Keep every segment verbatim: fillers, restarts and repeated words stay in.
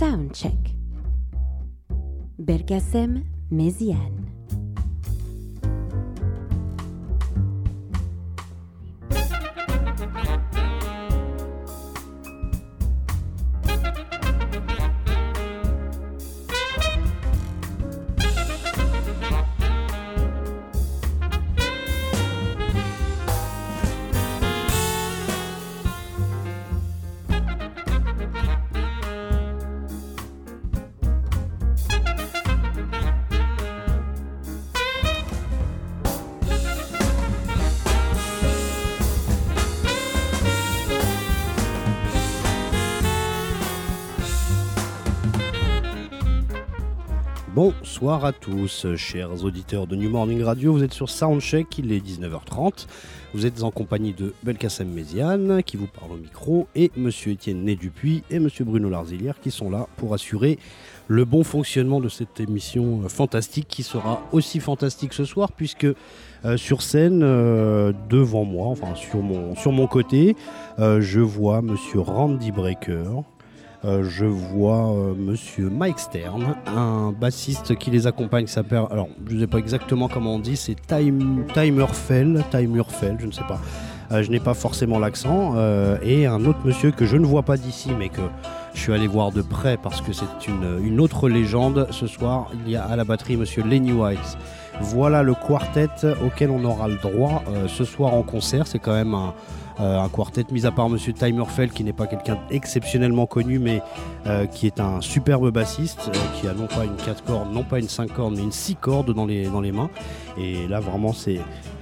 Soundcheck. Belkacem Méziane. Bonsoir à tous, chers auditeurs de New Morning Radio, vous êtes sur Soundcheck, il est dix-neuf heures trente, vous êtes en compagnie de Belkacem Méziane qui vous parle au micro et Monsieur Étienne Né-Dupuis et Monsieur Bruno Larzilière qui sont là pour assurer le bon fonctionnement de cette émission fantastique qui sera aussi fantastique ce soir puisque euh, sur scène, euh, devant moi, enfin sur mon, sur mon côté, euh, je vois Monsieur Randy Brecker. Euh, je vois euh, Monsieur Mike Stern, un bassiste qui les accompagne, qui s'appelle, alors je ne sais pas exactement comment on dit, c'est Time, Timerfell, Timerfell, je ne sais pas, euh, je n'ai pas forcément l'accent, euh, et un autre monsieur que je ne vois pas d'ici, mais que je suis allé voir de près parce que c'est une, une autre légende. Ce soir, il y a à la batterie Monsieur Lenny White. Voilà le quartet auquel on aura le droit euh, ce soir en concert, c'est quand même un... Euh, un quartet mis à part Monsieur Timerfell qui n'est pas quelqu'un d'exceptionnellement connu mais euh, qui est un superbe bassiste euh, qui a non pas une quatre cordes, non pas une cinq cordes mais une six cordes dans les, dans les mains et là vraiment c'est,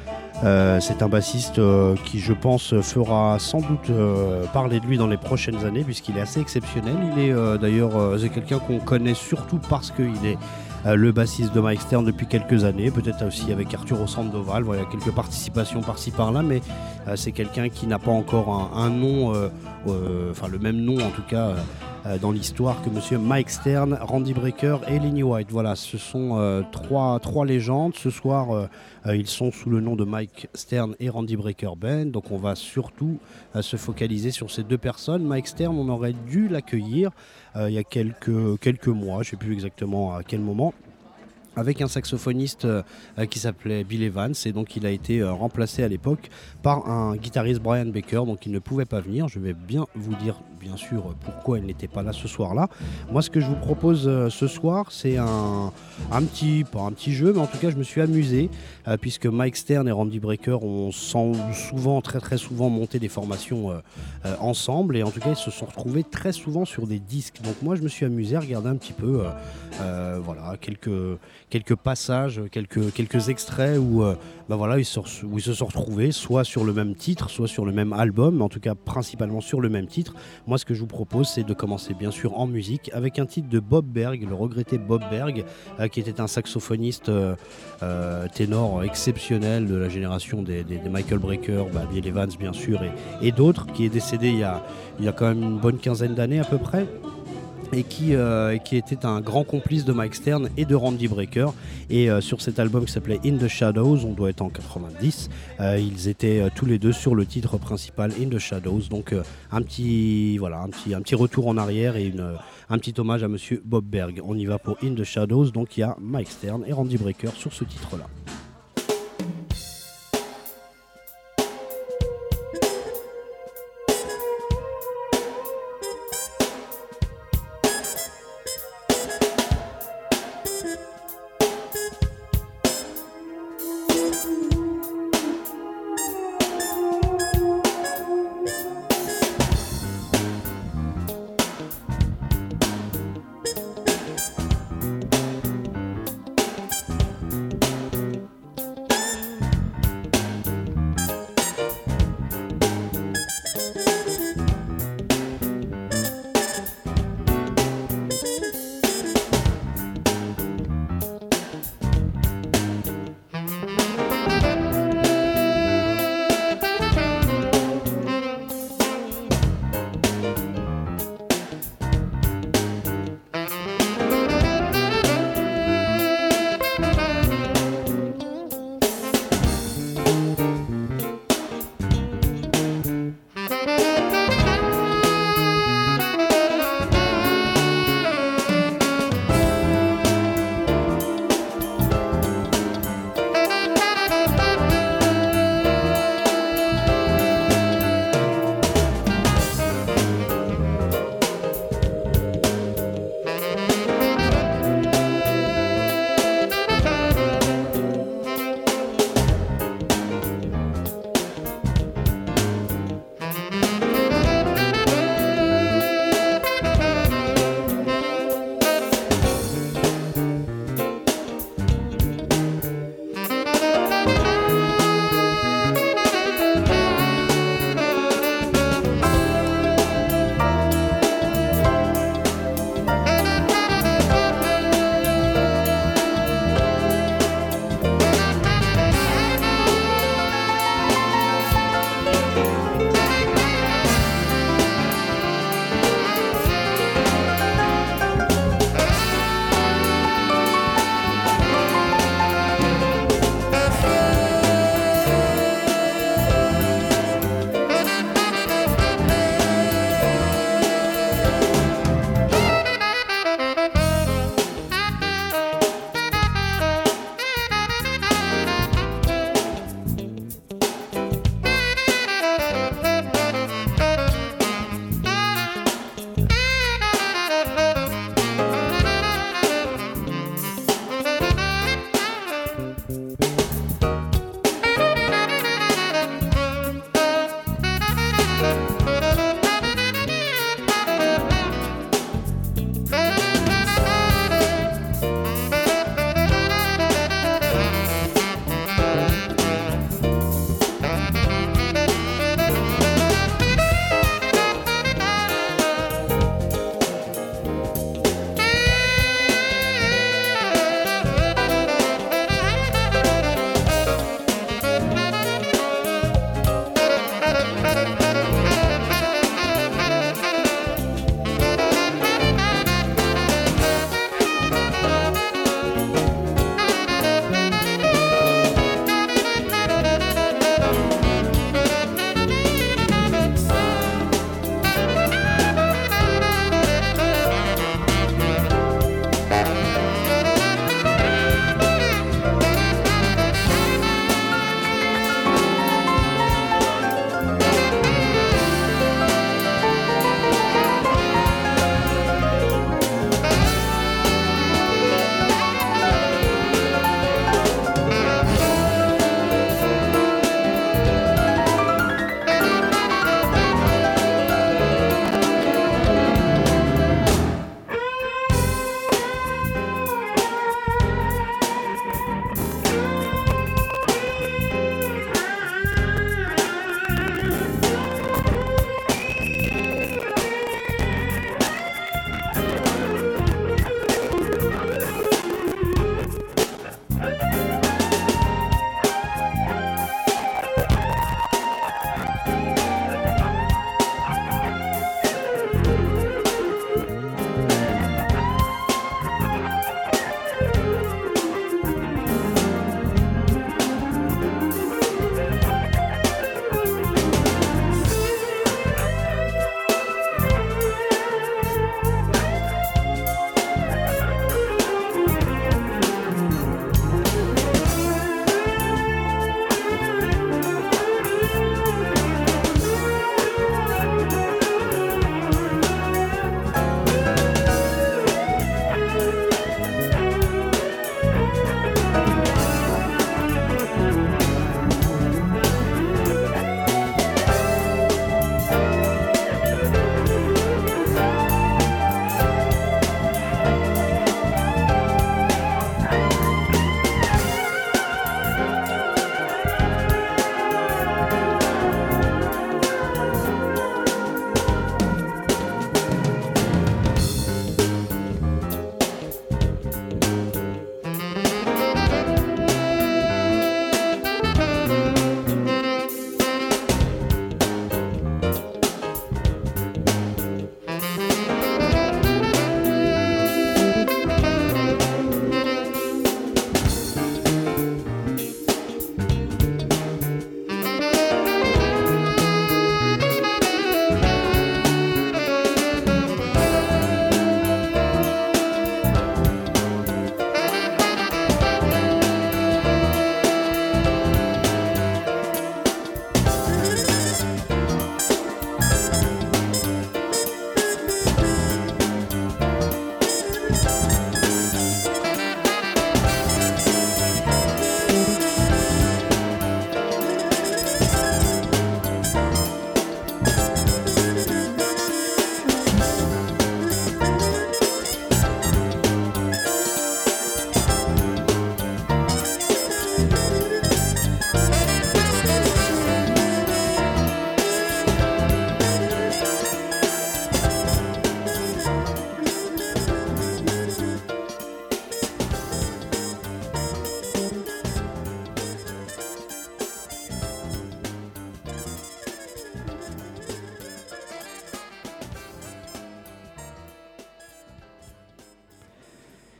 euh, c'est un bassiste euh, qui je pense fera sans doute euh, parler de lui dans les prochaines années puisqu'il est assez exceptionnel. Il est euh, d'ailleurs euh, c'est quelqu'un qu'on connaît surtout parce qu'il est Euh, le bassiste de Mike Stern depuis quelques années, peut-être aussi avec Arturo Sandoval, voilà, quelques participations par-ci par-là, mais euh, c'est quelqu'un qui n'a pas encore un, un nom, euh, euh, enfin le même nom en tout cas euh, dans l'histoire que Monsieur Mike Stern, Randy Brecker et Lenny White. Voilà, ce sont euh, trois, trois légendes. Ce soir, euh, euh, ils sont sous le nom de Mike Stern et Randy Brecker Band, donc on va surtout euh, se focaliser sur ces deux personnes. Mike Stern, on aurait dû l'accueillir euh, il y a quelques, quelques mois, je ne sais plus exactement à quel moment, avec un saxophoniste euh, qui s'appelait Bill Evans et donc il a été euh, remplacé à l'époque par un guitariste Brian Baker, donc il ne pouvait pas venir. Je vais bien vous dire bien sûr pourquoi il n'était pas là ce soir-là. Moi ce que je vous propose euh, ce soir c'est un, un petit, pas un petit jeu mais en tout cas je me suis amusé euh, puisque Mike Stern et Randy Brecker ont souvent, très très souvent monté des formations euh, euh, ensemble et en tout cas ils se sont retrouvés très souvent sur des disques. Donc moi je me suis amusé à regarder un petit peu euh, euh, voilà, quelques quelques passages, quelques, quelques extraits où, euh, bah voilà, ils se, où ils se sont retrouvés soit sur le même titre, soit sur le même album, mais en tout cas principalement sur le même titre. Moi ce que je vous propose c'est de commencer bien sûr en musique avec un titre de Bob Berg, le regretté Bob Berg, euh, qui était un saxophoniste euh, euh, ténor exceptionnel de la génération des, des, des Michael Brecker, bah, Bill Evans bien sûr et, et d'autres, qui est décédé il y, a, il y a quand même une bonne quinzaine d'années à peu près. Et qui, euh, qui était un grand complice de Mike Stern et de Randy Brecker. Et euh, sur cet album qui s'appelait In the Shadows, on doit être en quatre-vingt-dix, euh, ils étaient euh, tous les deux sur le titre principal In the Shadows. Donc euh, un, petit, voilà, un, petit, un petit retour en arrière et une, un petit hommage à Monsieur Bob Berg. On y va pour In the Shadows, donc il y a Mike Stern et Randy Brecker sur ce titre-là.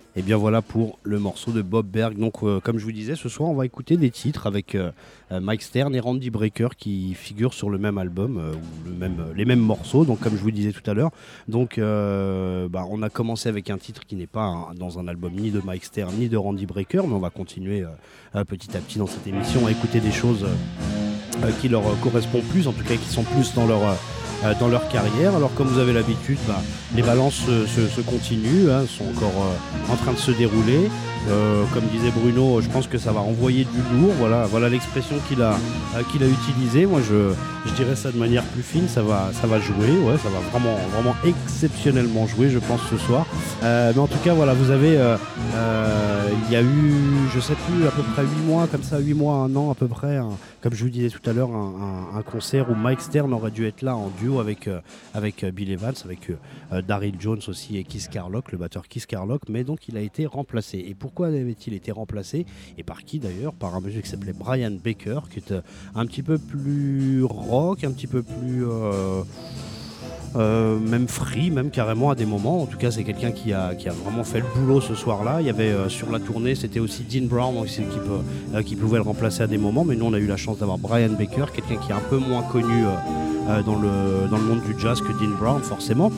Et bien voilà pour le morceau de Bob Berg. Donc euh, comme je vous disais, ce soir on va écouter des titres avec euh, Mike Stern et Randy Brecker qui figurent sur le même album, euh, ou le même, euh, les mêmes morceaux, donc comme je vous disais tout à l'heure. Donc euh, bah, on a commencé avec un titre qui n'est pas un, dans un album ni de Mike Stern ni de Randy Brecker, mais on va continuer euh, petit à petit dans cette émission à écouter des choses euh, qui leur correspondent plus, en tout cas qui sont plus dans leur... Euh, dans leur carrière. Alors comme vous avez l'habitude, bah, les balances se, se, se continuent, hein, sont encore euh, en train de se dérouler. Euh, comme disait Bruno, je pense que ça va envoyer du lourd. Voilà, voilà l'expression qu'il a, euh, qu'il a utilisée. Moi, je, je dirais ça de manière plus fine. Ça va, ça va jouer. Ouais, ça va vraiment, vraiment exceptionnellement jouer, je pense, ce soir. Euh, mais en tout cas, voilà, vous avez, euh, euh, il y a eu, je sais plus, à peu près huit mois, comme ça, huit mois, un an à peu près. Un, comme je vous disais tout à l'heure, un, un, un concert où Mike Stern aurait dû être là en duo avec, euh, avec euh, Bill Evans, avec euh, Daryl Jones aussi et Keith Carlock, le batteur Keith Carlock. Mais donc, il a été remplacé. Et pour Pourquoi avait-il été remplacé? Et par qui d'ailleurs? Par un monsieur qui s'appelait Brian Baker, qui est un petit peu plus rock, un petit peu plus... Euh, euh, même free, même carrément à des moments. En tout cas, c'est quelqu'un qui a, qui a vraiment fait le boulot ce soir-là. Il y avait euh, sur la tournée, c'était aussi Dean Brown aussi, qui, peut, euh, qui pouvait le remplacer à des moments. Mais nous, on a eu la chance d'avoir Brian Baker, quelqu'un qui est un peu moins connu euh, euh, dans, le, dans le monde du jazz que Dean Brown, forcément.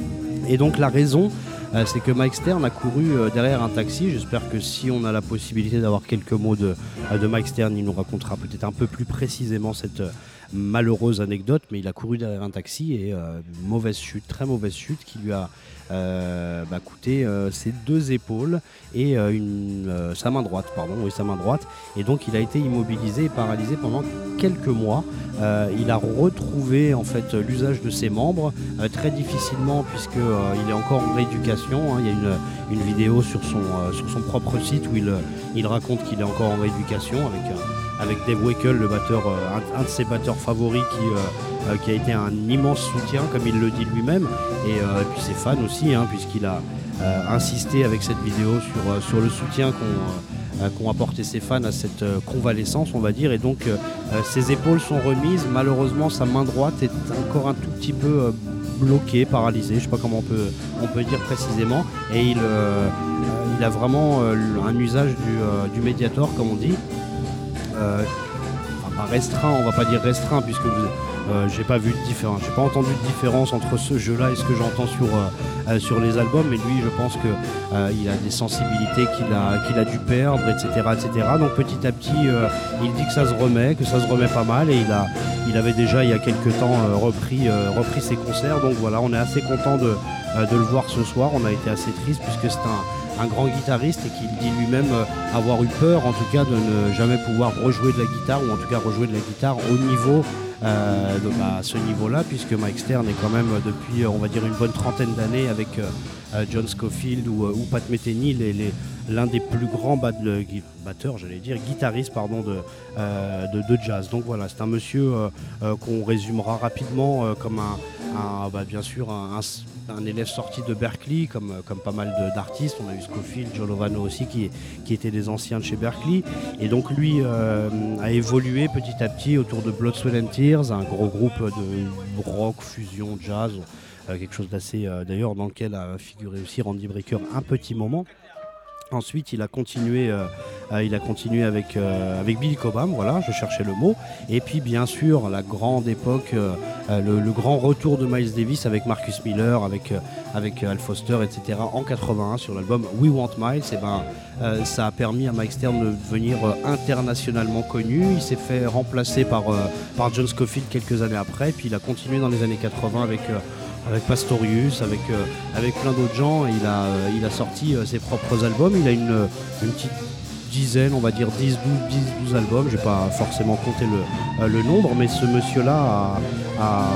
Et donc, la raison... Euh, c'est que Mike Stern a couru euh, derrière un taxi. J'espère que si on a la possibilité d'avoir quelques mots de, euh, de Mike Stern, il nous racontera peut-être un peu plus précisément cette euh, malheureuse anecdote. Mais il a couru derrière un taxi et euh, mauvaise chute, très mauvaise chute qui lui a euh, bah, coûté euh, ses deux épaules et euh, une, euh, sa main droite, pardon, oui, sa main droite. Et donc il a été immobilisé et paralysé pendant quelques mois. Euh, il a retrouvé en fait l'usage de ses membres euh, très difficilement puisque euh, il est encore en rééducation. Hein. Il y a une, une vidéo sur son, euh, sur son propre site où il, il raconte qu'il est encore en rééducation avec, euh, avec Dave Weckl, le batteur, euh, un, un de ses batteurs favoris qui, euh, euh, qui a été un immense soutien comme il le dit lui-même et, euh, et puis ses fans aussi hein, puisqu'il a euh, insisté avec cette vidéo sur, euh, sur le soutien qu'on euh, qu'ont apporté ses fans à cette euh, convalescence on va dire et donc euh, ses épaules sont remises, malheureusement sa main droite est encore un tout petit peu euh, bloquée, paralysée, je sais pas comment on peut, on peut dire précisément et il, euh, il a vraiment euh, un usage du, euh, du Mediator comme on dit euh, enfin, pas restreint, on va pas dire restreint puisque vous Euh, j'ai pas vu de différence, j'ai pas entendu de différence entre ce jeu-là et ce que j'entends sur, euh, euh, sur les albums, mais lui je pense que euh, il a des sensibilités qu'il a, qu'il a dû perdre, et cetera, et cetera. Donc petit à petit, euh, il dit que ça se remet, que ça se remet pas mal, et il a, il avait déjà il y a quelques temps euh, repris, euh, repris ses concerts. Donc voilà, on est assez content de, euh, de le voir ce soir. On a été assez triste puisque c'est un un grand guitariste et qu'il dit lui-même euh, avoir eu peur en tout cas de ne jamais pouvoir rejouer de la guitare ou en tout cas rejouer de la guitare au niveau euh, de, bah, à ce niveau-là puisque Mike Stern est quand même euh, depuis on va dire une bonne trentaine d'années avec euh, euh, John Scofield ou, euh, ou Pat Metheny les, les, l'un des plus grands bat- le, batteurs, j'allais dire guitaristes pardon, de, euh, de, de jazz. Donc voilà, c'est un monsieur euh, euh, qu'on résumera rapidement euh, comme un, un bah, bien sûr un, un, un élève sorti de Berklee comme, comme pas mal de, d'artistes. On a eu Scofield, Joe Lovano aussi qui, qui étaient des anciens de chez Berklee et donc lui euh, a évolué petit à petit autour de Blood, Sweat and Tears, un gros groupe de rock, fusion, jazz, euh, quelque chose d'assez euh, d'ailleurs dans lequel a figuré aussi Randy Brecker un petit moment. Ensuite, il a continué, euh, euh, il a continué avec, euh, avec Billy Cobham, voilà, je cherchais le mot. Et puis, bien sûr, la grande époque, euh, le, le grand retour de Miles Davis avec Marcus Miller, avec, euh, avec Al Foster, et cetera en quatre-vingt-un sur l'album We Want Miles. Et ben, euh, ça a permis à Mike Stern de devenir euh, internationalement connu. Il s'est fait remplacer par, euh, par John Scofield quelques années après. Puis, il a continué dans les années quatre-vingts avec... Euh, avec Pastorius, avec, euh, avec plein d'autres gens. Il a, euh, il a sorti euh, ses propres albums. Il a une, une petite dizaine, on va dire dix douze albums. Je n'ai pas forcément compté le, euh, le nombre, mais ce monsieur-là a, a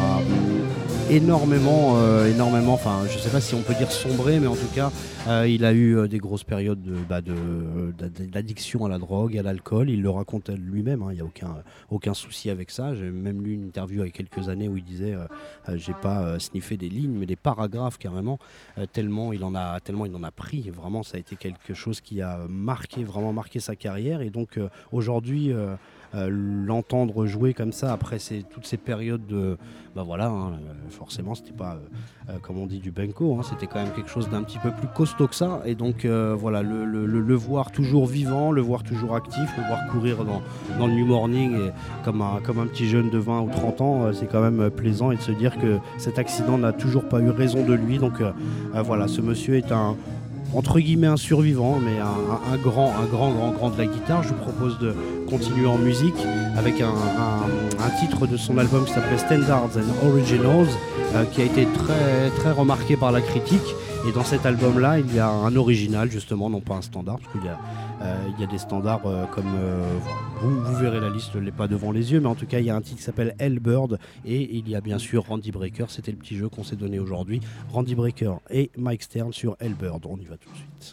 énormément, euh, énormément, enfin je ne sais pas si on peut dire sombré, mais en tout cas euh, il a eu euh, des grosses périodes de, bah, de, de, d'addiction à la drogue, à l'alcool. Il le raconte lui-même, il hein, n'y a aucun, aucun souci avec ça. J'ai même lu une interview il y a quelques années où il disait euh, euh, j'ai pas euh, sniffé des lignes mais des paragraphes carrément, euh, tellement, il en a, tellement il en a pris. Vraiment ça a été quelque chose qui a marqué, vraiment marqué sa carrière et donc euh, aujourd'hui euh, euh, l'entendre jouer comme ça après ces, toutes ces périodes de, bah voilà, hein, forcément c'était pas euh, euh, comme on dit du benko, hein, c'était quand même quelque chose d'un petit peu plus costaud que ça, et donc euh, voilà, le, le, le, le voir toujours vivant, le voir toujours actif, le voir courir dans, dans le New Morning et comme un, comme un petit jeune de vingt ou trente ans, euh, c'est quand même plaisant, et de se dire que cet accident n'a toujours pas eu raison de lui. Donc euh, euh, voilà, ce monsieur est un, entre guillemets, un survivant, mais un, un, un grand, un grand, grand, grand de la guitare. Je vous propose de continuer en musique avec un, un, un titre de son album qui s'appelait Standards and Originals, euh, qui a été très, très remarqué par la critique. Et dans cet album-là, il y a un original, justement, non pas un standard, parce qu'il y a, euh, il y a des standards euh, comme... Euh, vous, vous verrez la liste, je ne l'ai pas devant les yeux, mais en tout cas, il y a un titre qui s'appelle Hellbird, et il y a bien sûr Randy Brecker, c'était le petit jeu qu'on s'est donné aujourd'hui. Randy Brecker et Mike Stern sur Hellbird, on y va tout de suite.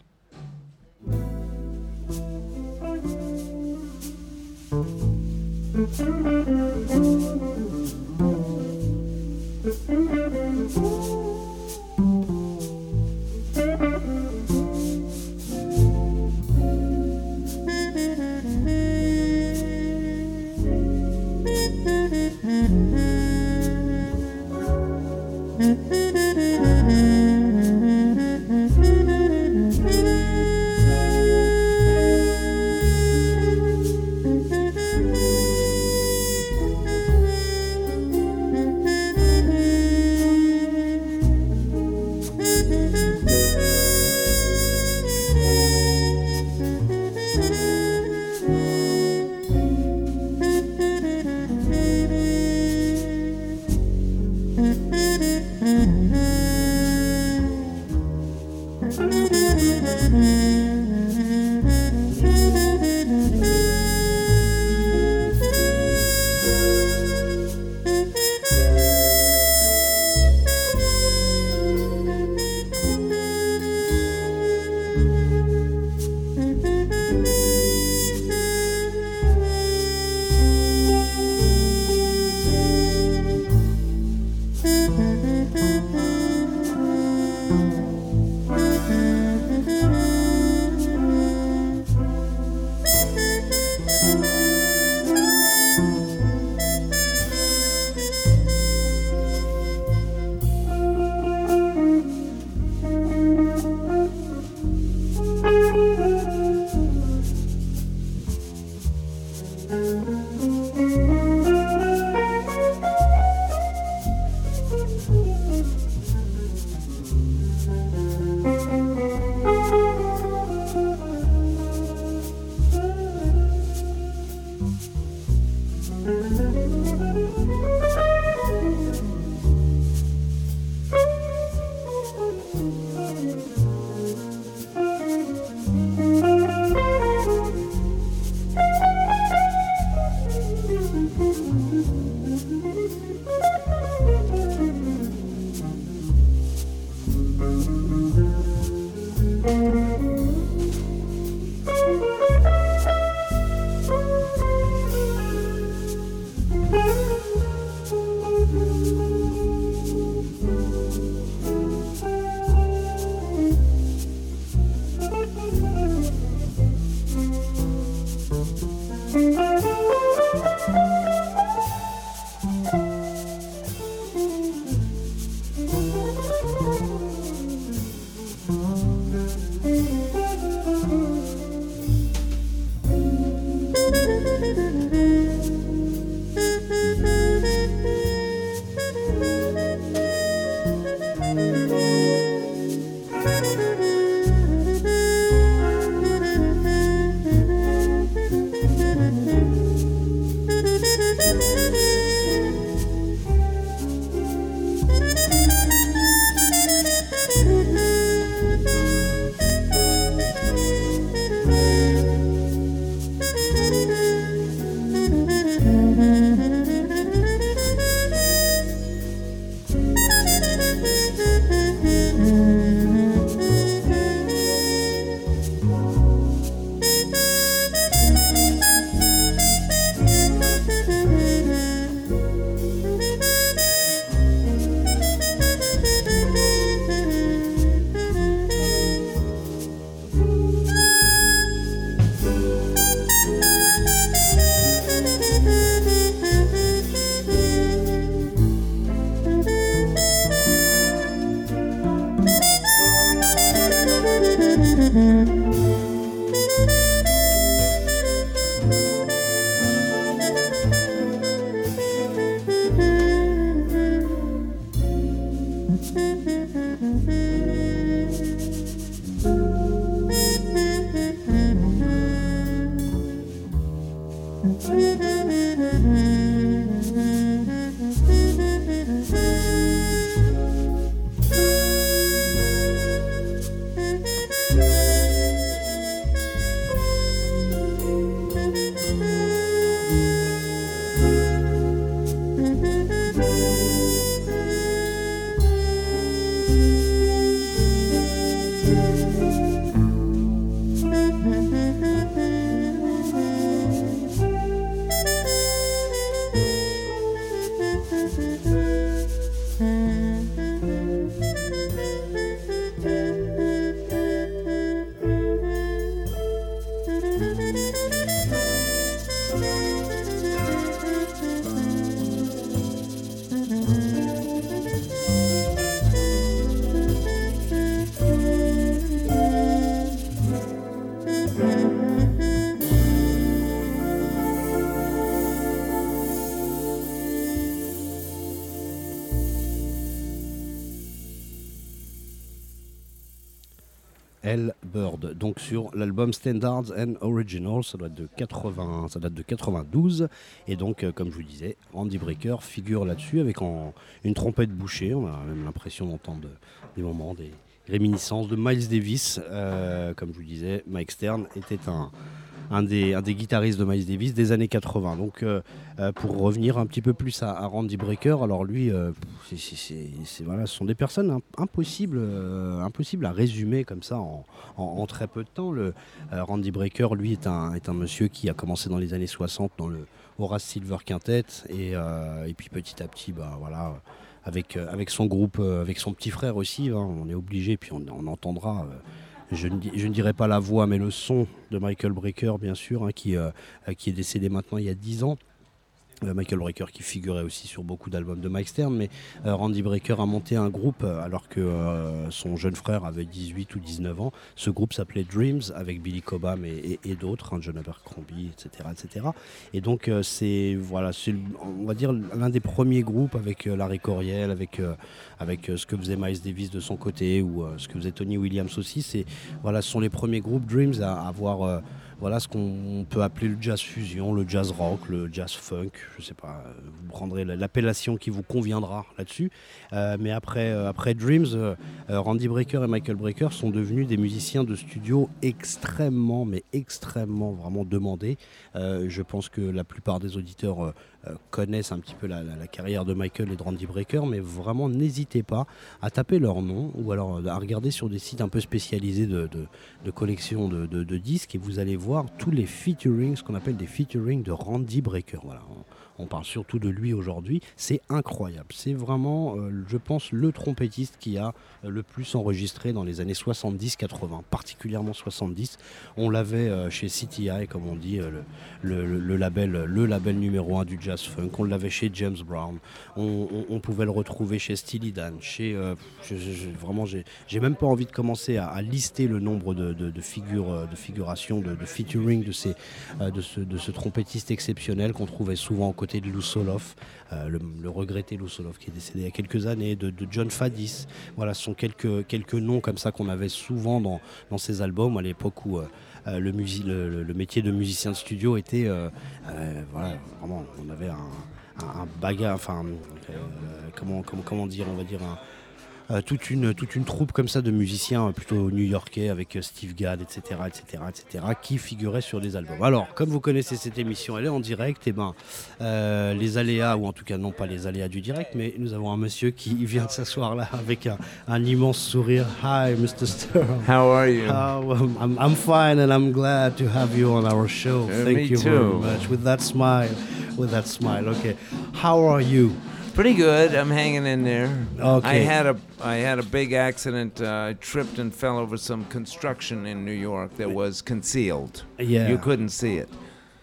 L. Bird. Donc sur l'album Standards and Originals, ça doit être de quatre-vingts, ça date de quatre-vingt-douze. Et donc, euh, comme je vous disais, Randy Brecker figure là-dessus avec en, une trompette bouchée. On a même l'impression d'entendre des moments, des réminiscences de Miles Davis. Euh, comme je vous disais, Mike Stern était un, un, des, un des guitaristes de Miles Davis des années quatre-vingts. Donc, euh, euh, pour revenir un petit peu plus à, à Randy Brecker, alors lui, euh, c'est, c'est, c'est, c'est, voilà, ce sont des personnes imp- impossibles, euh, impossibles à résumer comme ça en, en, en très peu de temps. Le, euh, Randy Brecker, lui, est un, est un monsieur qui a commencé dans les années soixante dans le Horace Silver Quintet et, euh, et puis petit à petit, bah, voilà, avec, euh, avec son groupe, euh, avec son petit frère aussi, hein, on est obligé, puis on, on entendra... Euh, Je ne, je ne dirais pas la voix, mais le son de Michael Brecker, bien sûr, hein, qui, euh, qui est décédé maintenant il y a dix ans. Euh, Michael Brecker qui figurait aussi sur beaucoup d'albums de Mike Stern, mais euh, Randy Brecker a monté un groupe euh, alors que euh, son jeune frère avait dix-huit ou dix-neuf ans. Ce groupe s'appelait Dreams avec Billy Cobham et, et, et d'autres, hein, John Abercrombie, et cetera, et cetera. Et donc euh, c'est voilà, c'est on va dire l'un des premiers groupes avec euh, Larry Coryell, avec euh, avec euh, ce que faisait Miles Davis de son côté ou euh, ce que faisait Tony Williams aussi. C'est voilà, ce sont les premiers groupes Dreams à avoir euh, voilà ce qu'on peut appeler le jazz fusion, le jazz rock, le jazz funk, je sais pas, vous prendrez l'appellation qui vous conviendra là-dessus. Euh, mais après, euh, après Dreams, euh, Randy Brecker et Michael Brecker sont devenus des musiciens de studio extrêmement, mais extrêmement vraiment demandés. Euh, je pense que la plupart des auditeurs euh, euh, connaissent un petit peu la, la, la carrière de Michael et de Randy Brecker, mais vraiment n'hésitez pas à taper leur nom ou alors à regarder sur des sites un peu spécialisés de, de, de collection de, de, de disques et vous allez voir tous les featurings, ce qu'on appelle des featurings de Randy Brecker. Voilà. On parle surtout de lui aujourd'hui. C'est incroyable. C'est vraiment, euh, je pense, le trompettiste qui a euh, le plus enregistré dans les années soixante-dix quatre-vingts, particulièrement soixante-dix. On l'avait euh, chez C T I, comme on dit, euh, le, le, le, label, le label numéro un du jazz funk. On l'avait chez James Brown. On, on, on pouvait le retrouver chez Steely Dan. Chez, euh, je, je, je, vraiment, j'ai, j'ai même pas envie de commencer à, à lister le nombre de, de, de, figures, de figurations, de, de featuring de, ces, euh, de, ce, de ce trompettiste exceptionnel qu'on trouvait souvent en côté de Lou Soloff, euh, le, le regretté Lou Soloff qui est décédé il y a quelques années, de, de John Faddis. Voilà, ce sont quelques, quelques noms comme ça qu'on avait souvent dans, dans ces albums à l'époque où euh, le, musi- le, le métier de musicien de studio était, euh, euh, voilà, vraiment, on avait un, un, un bagage, enfin, euh, comment, comment, comment dire, on va dire un Euh, toute, une, toute une troupe comme ça de musiciens euh, plutôt new-yorkais avec euh, Steve Gadd, et cetera, et cetera, et cetera, qui figuraient sur des albums. Alors, comme vous connaissez cette émission, elle est en direct, et ben, euh, les aléas, ou en tout cas non pas les aléas du direct, mais nous avons un monsieur qui vient de s'asseoir là avec un, un immense sourire. Hi, Mister Stern. How are you? Uh, well, I'm, I'm fine, and I'm glad to have you on our show. Uh, Thank me you too. very much. With that smile, with that smile. Okay, how are you? Pretty good. I'm hanging in there. Okay. I had a I had a big accident. Uh, I tripped and fell over some construction in New York that was concealed. Yeah. You couldn't see it,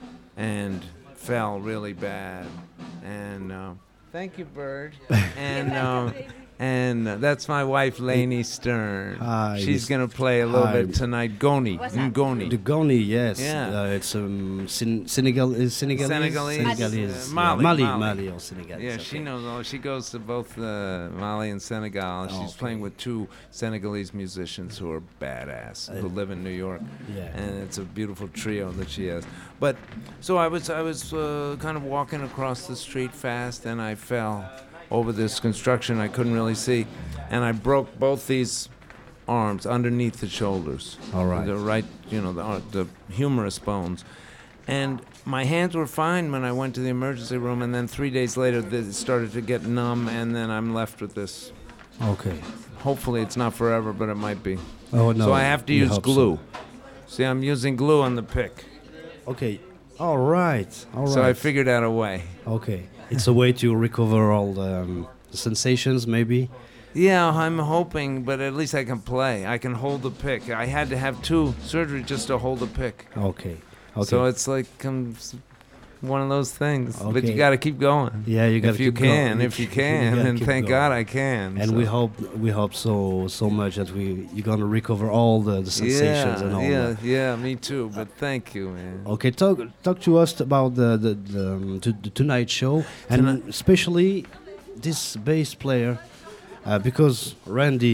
and fell really bad. And uh, thank you, Bird. and uh, and uh, that's my wife, Lainey Stern. Hi, She's Miss- gonna play a little Hi. bit tonight. Goni, Ngoni. The Goni, yes. Yeah. Uh, it's um, Sen- Senegal, is Senegalese? Senegalese. Senegalese. Uh, Mali, Yeah, Mali, Mali. Mali or Senegalese. Yeah, okay. she knows all. She goes to both uh, Mali and Senegal. She's okay. playing with two Senegalese musicians who are badass, who live in New York, Yeah. and it's a beautiful trio that she has. But so I was, I was uh, kind of walking across the street fast, and I fell over this construction I couldn't really see, and I broke both these arms underneath the shoulders. All right. The right, you know, the, the humerus bones. And my hands were fine when I went to the emergency room, and then three days later, they started to get numb, and then I'm left with this. Okay. Hopefully, it's not forever, but it might be. Oh, no. So I have to we use hope glue. so. See, I'm using glue on the pick. Okay. All right. All right. So I figured out a way. Okay. It's a way to recover all the, um, the sensations, maybe. Yeah, I'm hoping, but at least I can play. I can hold the pick. I had to have two surgeries just to hold the pick. Okay. Okay. So it's like um, s- one of those things. But Okay. you got to keep going. yeah, you got If you can, if you can, gotta and keep thank going. God I can. And so. we hope we hope so so much that we you're gonna recover all the, the sensations yeah, and all yeah, that. yeah, me too. But thank you, man. Okay, talk talk to us about the the, the, um, to, the tonight show and Tonight- especially this bass player uh, because Randy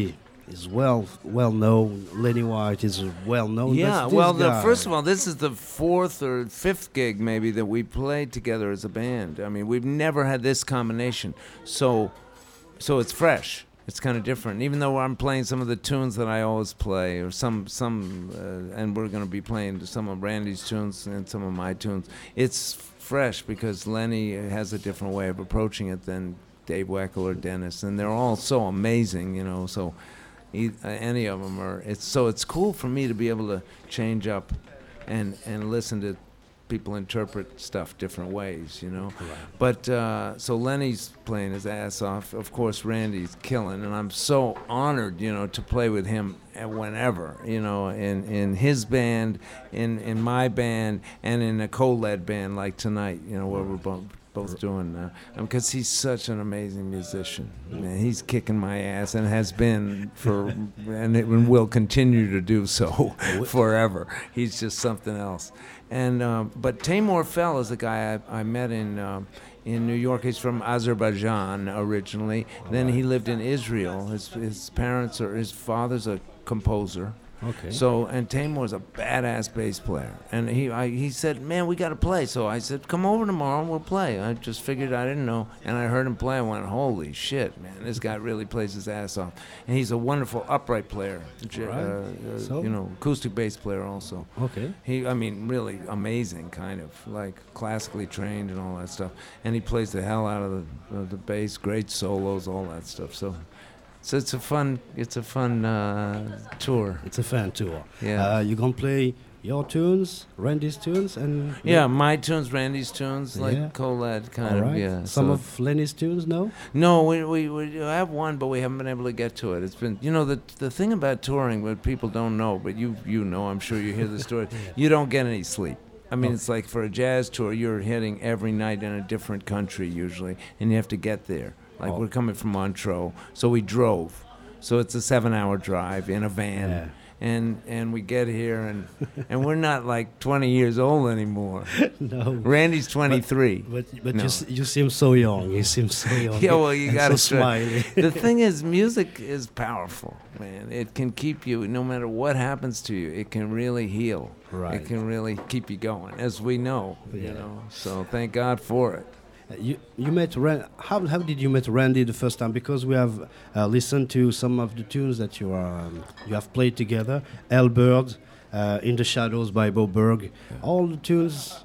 is well well known. Lenny White is well known. Yeah, That's well, this the, guy. first of all, this is the fourth or fifth gig maybe that we played together as a band. I mean, we've never had this combination, so so it's fresh. It's kind of different. Even though I'm playing some of the tunes that I always play, or some some, uh, and we're going to be playing some of Randy's tunes and some of my tunes. It's fresh because Lenny has a different way of approaching it than Dave Weckl or Dennis, and they're all so amazing, you know. So. E- uh, any of them are. It's so it's cool for me to be able to change up, and and listen to people interpret stuff different ways, you know. Right. But uh, so Lenny's playing his ass off. Of course, Randy's killing, and I'm so honored, you know, to play with him whenever, you know, in in his band, in in my band, and in a co-led band like tonight, you know, where we're both. both doing now, because he's such an amazing musician. Man, he's kicking my ass and has been for, and it will continue to do so forever. He's just something else. And um, but Taimur Fel is a guy I, I met in um, in New York. He's from Azerbaijan originally. Then he lived in Israel. His his parents or his father's a composer. Okay. So, and Taimur's a badass bass player, and he I, he said, "Man, we got to play." So I said, "Come over tomorrow and we'll play." I just figured I didn't know, and I heard him play. I went, "Holy shit, man! This guy really plays his ass off." And he's a wonderful upright player, j- Right. uh, uh, So? you know, acoustic bass player also. Okay. He, I mean, really amazing, kind of like classically trained and all that stuff. And he plays the hell out of the of the bass, great solos, all that stuff. So. So it's a fun, it's a fun uh, tour. It's a fan tour. Yeah. Uh, you gonna play your tunes, Randy's tunes, and Yeah, my tunes, Randy's tunes, like Yeah. Colette kind all of, right. yeah. Some so- of Lenny's tunes, no? No, we, we we have one, but we haven't been able to get to it. It's been, you know, the the thing about touring, what people don't know, but you you know, I'm sure you hear the story. You don't get any sleep. I mean, Oh. it's like for a jazz tour, you're hitting every night in a different country usually, and you have to get there. Like Oh. we're coming from Montreux, so we drove. So it's a seven-hour drive in a van. Yeah. And and we get here, and and we're not like twenty years old anymore. No. Randy's twenty-three. But but No. you s- you seem so young. You seem so young. Yeah, well, you and gotta so try. smiley. The thing is, music is powerful, man. It can keep you, no matter what happens to you, it can really heal. Right. It can really keep you going, as we know, Yeah. you know. So thank God for it. Uh, You you met Ran- how how did you met Randy the first time? Because we have uh, listened to some of the tunes that you are um, you have played together. Elbird, uh, In the Shadows by Bo Berg. All the tunes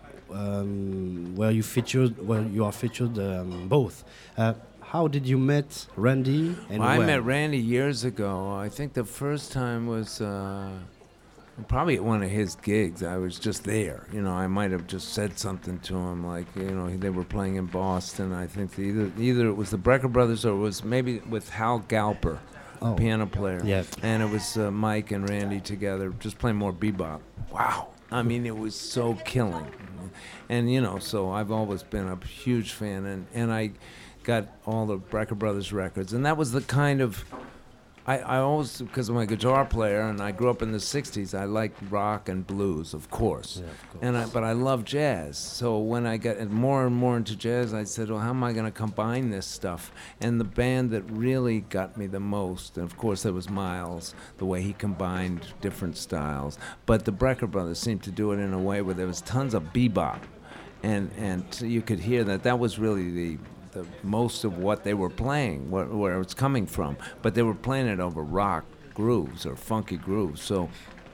um, where you featured where you are featured um, both. Uh, how did you met Randy? And Well, I when? met Randy years ago. I think the first time was uh, probably at one of his gigs. I was just there. You know, I might have just said something to him, like, you know, they were playing in Boston. I think either either it was the Brecker Brothers or it was maybe with Hal Galper, Oh. the piano player. Yeah. And it was uh, Mike and Randy together, just playing more bebop. Wow. I mean, it was so killing. And, you know, so I've always been a huge fan, and, and I got all the Brecker Brothers records. And that was the kind of, I, I always, because I'm a guitar player, and I grew up in the sixties, I liked rock and blues, of course. Yeah, of course. And I, but I love jazz. So when I got more and more into jazz, I said, well, how am I going to combine this stuff? And the band that really got me the most, and of course there was Miles, the way he combined different styles. But the Brecker Brothers seemed to do it in a way where there was tons of bebop. And, and you could hear that that was really the the most of what they were playing, where, where it's coming from. But they were playing it over rock grooves or funky grooves. So,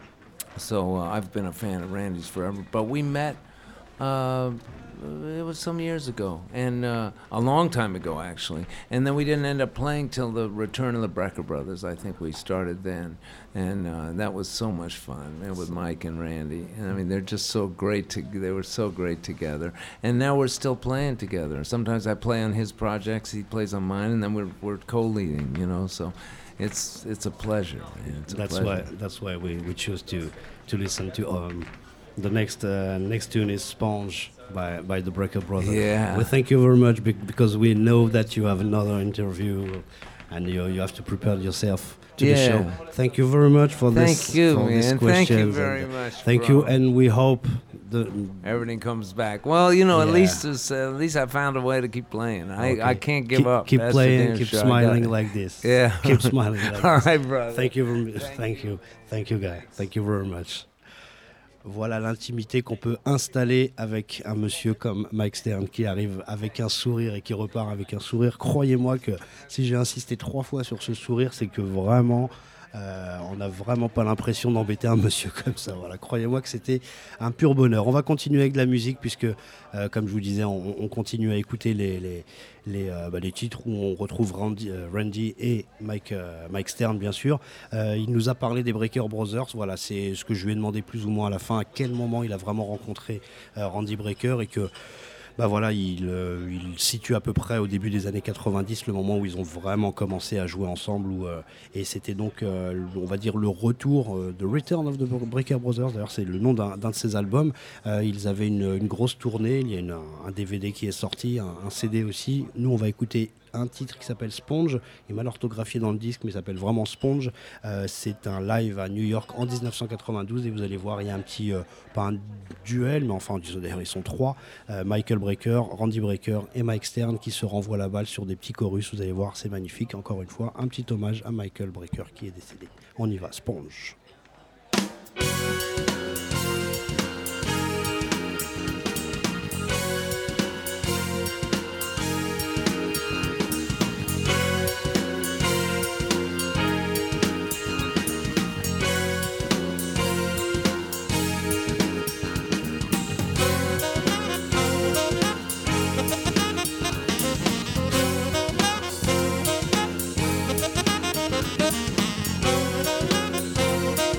so uh, I've been a fan of Randy's forever. But we met, uh, it was some years ago, and uh, a long time ago actually. And then we didn't end up playing till the return of the Brecker Brothers. I think we started then, and uh, that was so much fun. And with Mike and Randy, and I mean they're just so great. To, they were so great together. And now we're still playing together. Sometimes I play on his projects, he plays on mine, and then we're we're co-leading. You know, so. It's it's a pleasure. Man. It's a That's pleasure. why that's why we, we choose to to listen to um, the next uh, next tune is Sponge by by the Brecker Brothers. Yeah. We thank you very much bec- because we know that you have another interview and you you have to prepare yourself to Yeah. the show. Thank you very much for Thank this. you, for these man. Thank you questions very and, uh, much, Thank bro. you, and we hope the Everything comes back. Well, you know, at Yeah. least it's, uh, at least I found a way to keep playing. I, Okay. I can't give keep, up. Keep That's for playing, damn keep sure. I got smiling it. like this. Yeah. Keep smiling like All this. right, brother. Thank you, very, thank you, thank you, guy. Thank you very much. Voilà l'intimité qu'on peut installer avec un monsieur comme Mike Stern qui arrive avec un sourire et qui repart avec un sourire. Croyez-moi que si j'ai insisté trois fois sur ce sourire, c'est que vraiment, euh, on n'a vraiment pas l'impression d'embêter un monsieur comme ça. Voilà, croyez-moi que c'était un pur bonheur. On va continuer avec de la musique puisque, euh, comme je vous disais, on, on continue à écouter les, les, les, euh, bah, les titres où on retrouve Randy, euh, Randy et Mike, euh, Mike Stern, bien sûr. Euh, il nous a parlé des Breaker Brothers. Voilà, c'est ce que je lui ai demandé plus ou moins à la fin, à quel moment il a vraiment rencontré euh, Randy Brecker et que bah voilà, il, euh, il situe à peu près au début des années quatre-vingt-dix le moment où ils ont vraiment commencé à jouer ensemble où, euh, et c'était donc euh, on va dire le retour euh, de Return of the Breaker Brothers. D'ailleurs c'est le nom d'un, d'un de ses albums. Euh, ils avaient une, une grosse tournée, il y a une, un D V D qui est sorti, un, un C D aussi. Nous on va écouter un titre qui s'appelle Sponge, il est mal orthographié dans le disque mais il s'appelle vraiment Sponge. Euh, c'est un live à New York en dix-neuf cent quatre-vingt-douze et vous allez voir il y a un petit, euh, pas un duel mais enfin d'ailleurs ils sont trois, euh, Michael Brecker, Randy Brecker et Mike Stern qui se renvoient la balle sur des petits chorus. Vous allez voir, c'est magnifique. Encore une fois, un petit hommage à Michael Brecker qui est décédé. On y va, Sponge. Thank you.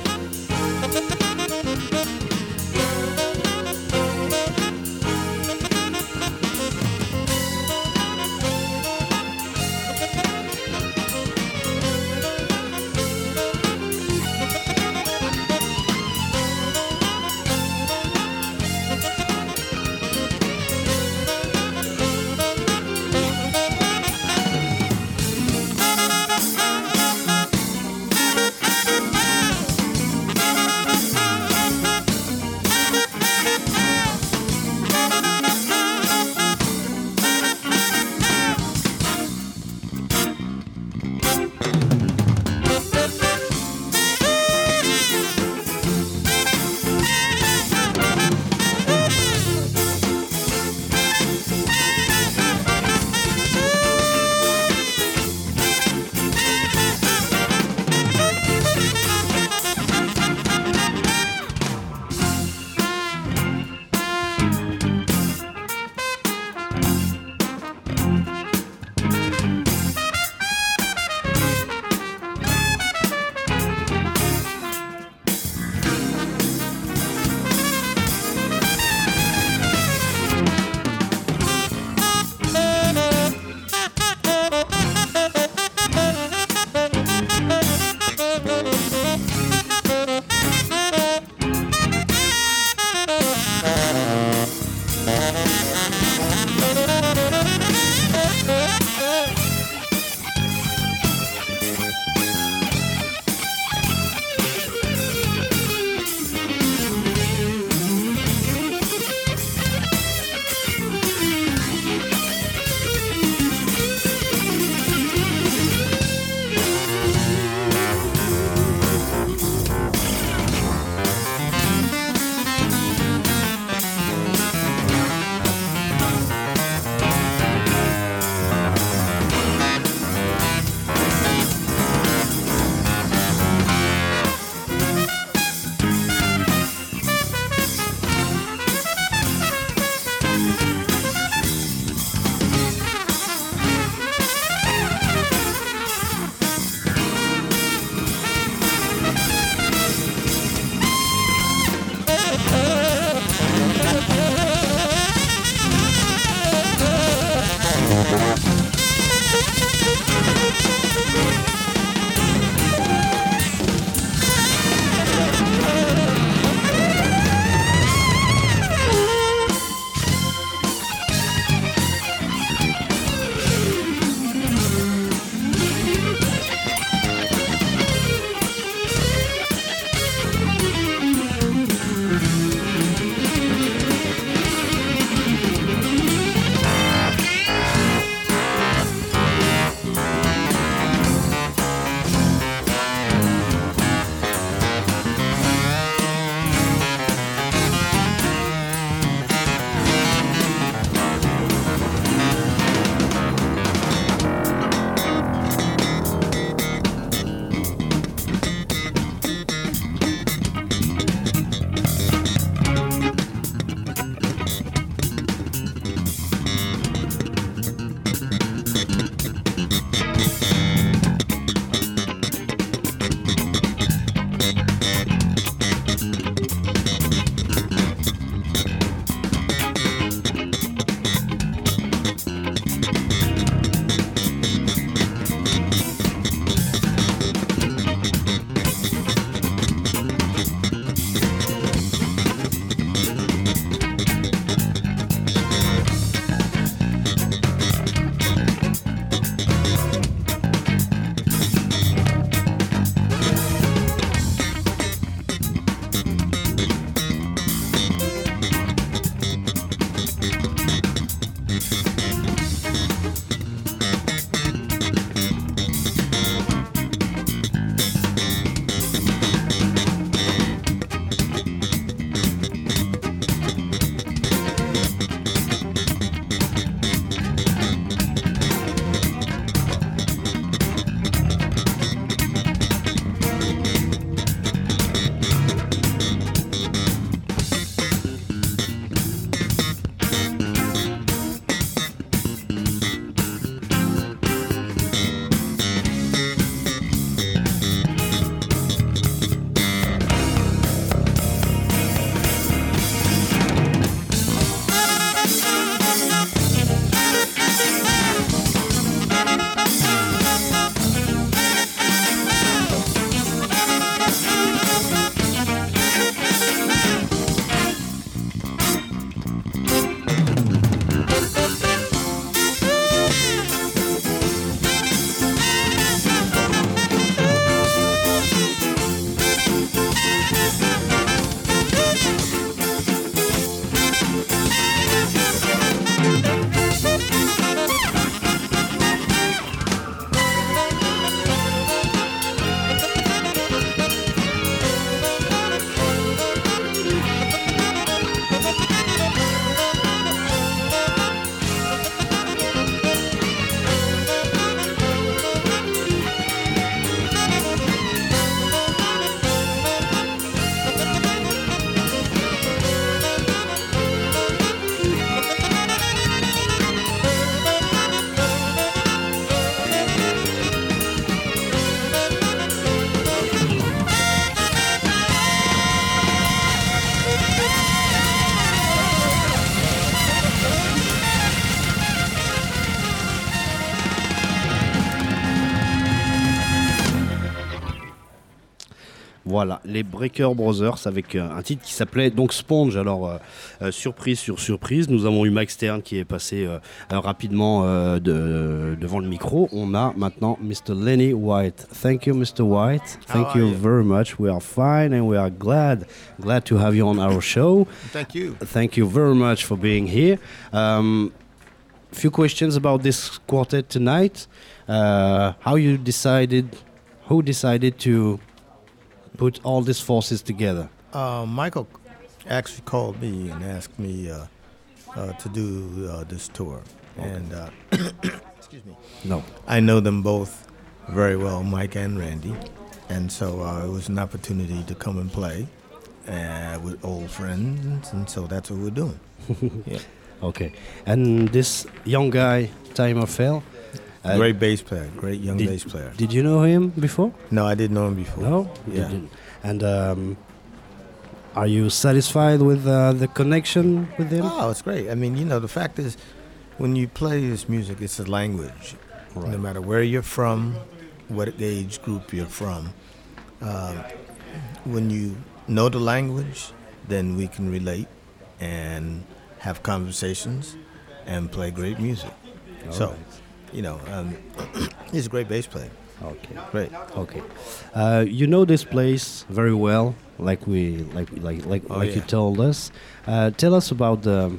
Voilà, les Breaker Brothers avec euh, un titre qui s'appelait donc Sponge. Alors, euh, euh, surprise sur surprise, nous avons eu Mike Stern qui est passé euh, euh, rapidement euh, de, devant le micro. On a maintenant mister Lenny White. Thank you, mister White. Thank How are you, you? very much. We are fine and we are glad, glad to have you on our show. Thank you. Thank you very much for being here. Um, few questions about this quartet tonight. Uh, how you decided, who decided to put all these forces together? Uh, Michael actually called me and asked me uh, uh, to do uh, this tour. And, uh, excuse me, No. I know them both very well, Mike and Randy. And so uh, it was an opportunity to come and play uh, with old friends. And so that's what we're doing. Yeah. Okay. And this young guy, Timer Fell. uh, Great bass player, great young did, bass player. Did you know him before? No, I didn't know him before. No? You Yeah. didn't. And um, are you satisfied with uh, the connection with him? Oh, it's great. I mean, you know, the fact is, when you play this music, it's a language. Right. No matter where you're from, what age group you're from, um, when you know the language, then we can relate and have conversations and play great music. All so, right. you know, um, he's a great bass player. Okay. Great. Okay. Uh, you know this place very well, like we like like like Oh, like you yeah. told us. Uh, tell us about the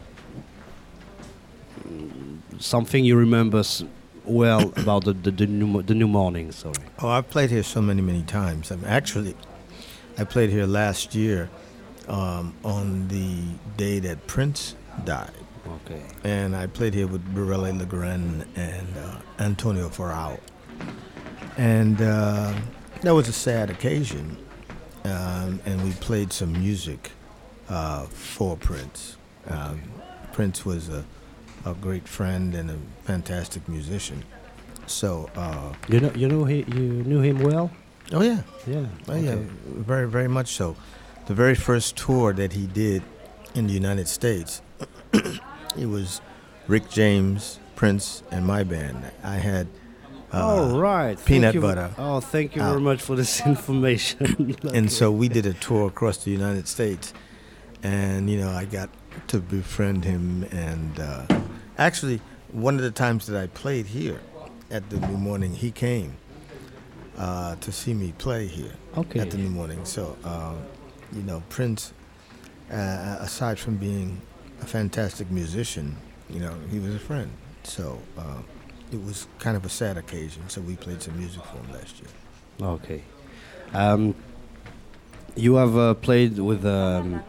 something you remember s- well about the the, the new Mo- the new morning. Sorry. Oh, I've played here so many, many times. I mean, actually, I played here last year um, on the day that Prince died. Okay. And I played here with Borelli Legrand and uh, Antonio Farao. And uh, that was a sad occasion. Um, and we played some music uh, for Prince. Um, Prince was a, a great friend and a fantastic musician. So, uh, You know you know he you knew him well. oh yeah, Yeah. oh yeah, okay. very, very much so. The very first tour that he did in the United States, it was Rick James, Prince, and my band. I had uh, All right. Thank peanut you v- butter. Oh, thank you Ah. very much for this information. And so we did a tour across the United States, and you know I got to befriend him. And uh, actually, one of the times that I played here at the New Morning, he came uh, to see me play here Okay. at the New Morning. So uh, you know, Prince, uh, aside from being a fantastic musician, you know, he was a friend. So uh, it was kind of a sad occasion. So we played some music for him last year. Okay. Um, you have uh, played with um,